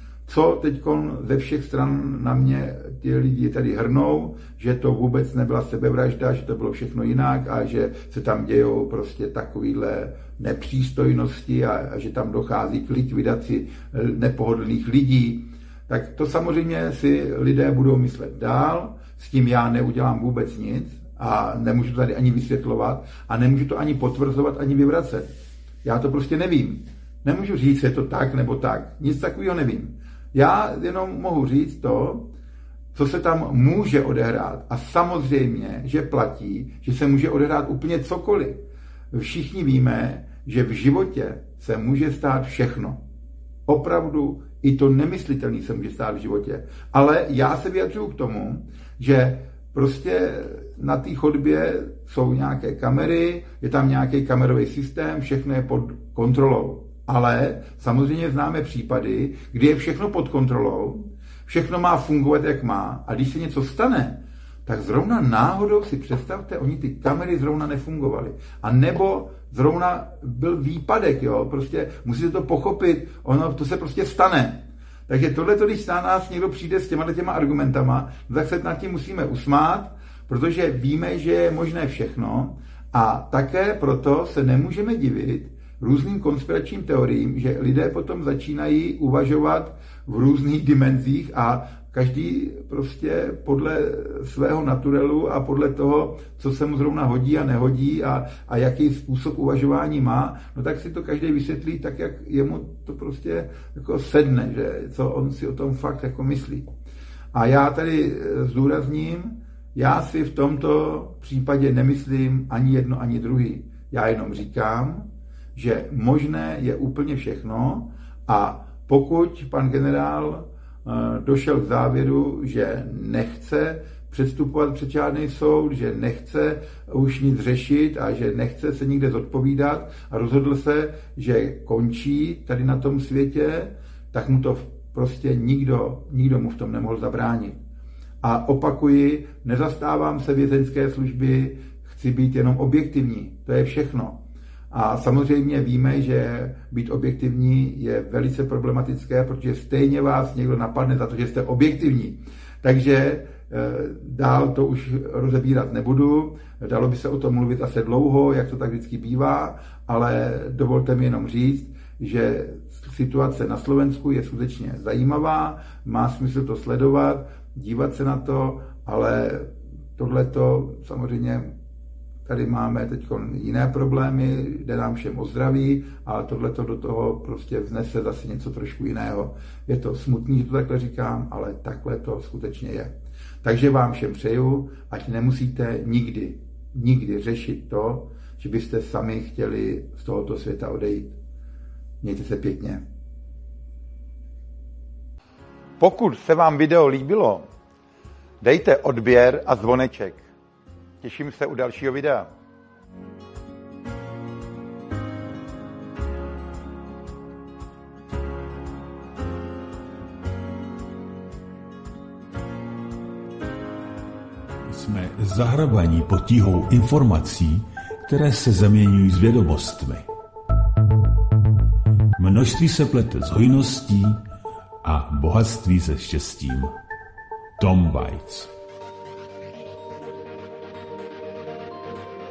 co teď ze všech stran na mě ty lidi tady hrnou, že to vůbec nebyla sebevražda, že to bylo všechno jinak a že se tam dějou prostě takovýhle nepřístojnosti a že tam dochází k likvidaci nepohodlných lidí. Tak to samozřejmě si lidé budou myslet dál, s tím já neudělám vůbec nic a nemůžu to tady ani vysvětlovat a nemůžu to ani potvrzovat, ani vyvracet. Já to prostě nevím. Nemůžu říct, je to tak nebo tak. Nic takového nevím. Já jenom mohu říct to, co se tam může odehrát. A samozřejmě, že platí, že se může odehrát úplně cokoliv. Všichni víme, že v životě se může stát všechno. Opravdu i to nemyslitelné se může stát v životě. Ale já se vyjadřuju k tomu, že prostě na té chodbě jsou nějaké kamery, je tam nějaký kamerový systém, všechno je pod kontrolou. Ale samozřejmě známe případy, kdy je všechno pod kontrolou, všechno má fungovat, jak má, a když se něco stane, tak zrovna náhodou si představte, oni ty kamery zrovna nefungovaly. A nebo zrovna byl výpadek, jo, prostě musíte to pochopit, ono to se prostě stane. Takže tohleto, když na nás někdo přijde s těma argumentama, tak se nad tím musíme usmát, protože víme, že je možné všechno a také proto se nemůžeme divit různým konspiračním teoriím, že lidé potom začínají uvažovat v různých dimenzích a každý prostě podle svého naturelu a podle toho, co se mu zrovna hodí a nehodí a jaký způsob uvažování má, no tak si to každý vysvětlí tak, jak jemu to prostě jako sedne, že co on si o tom fakt jako myslí. A já tady zdůrazním, já si v tomto případě nemyslím ani jedno, ani druhý. Já jenom říkám, že možné je úplně všechno a pokud pan generál došel k závěru, že nechce předstupovat před žádný soud, že nechce už nic řešit a že nechce se nikde zodpovídat a rozhodl se, že končí tady na tom světě, tak mu to prostě nikdo mu v tom nemohl zabránit. A opakuji, nezastávám se vězeňské služby, chci být jenom objektivní, to je všechno. A samozřejmě víme, že být objektivní je velice problematické, protože stejně vás někdo napadne za to, že jste objektivní. Takže dál to už rozebírat nebudu, dalo by se o tom mluvit asi dlouho, jak to tak vždycky bývá, ale dovolte mi jenom říct, že situace na Slovensku je skutečně zajímavá, má smysl to sledovat, dívat se na to, ale tohleto samozřejmě tady máme teď jiné problémy, jde nám všem o zdraví a tohleto do toho prostě vznese zase něco trošku jiného. Je to smutný, že to takhle říkám, ale takhle to skutečně je. Takže vám všem přeju, ať nemusíte nikdy řešit to, že byste sami chtěli z tohoto světa odejít. Mějte se pěkně. Pokud se vám video líbilo, dejte odběr a zvoneček. Těším se u dalšího videa. Jsme zahrabaní pod tíhou informací, které se zaměňují s vědomostmi. Množství se plete s hojností a bohatství se štěstím. Tom Waits.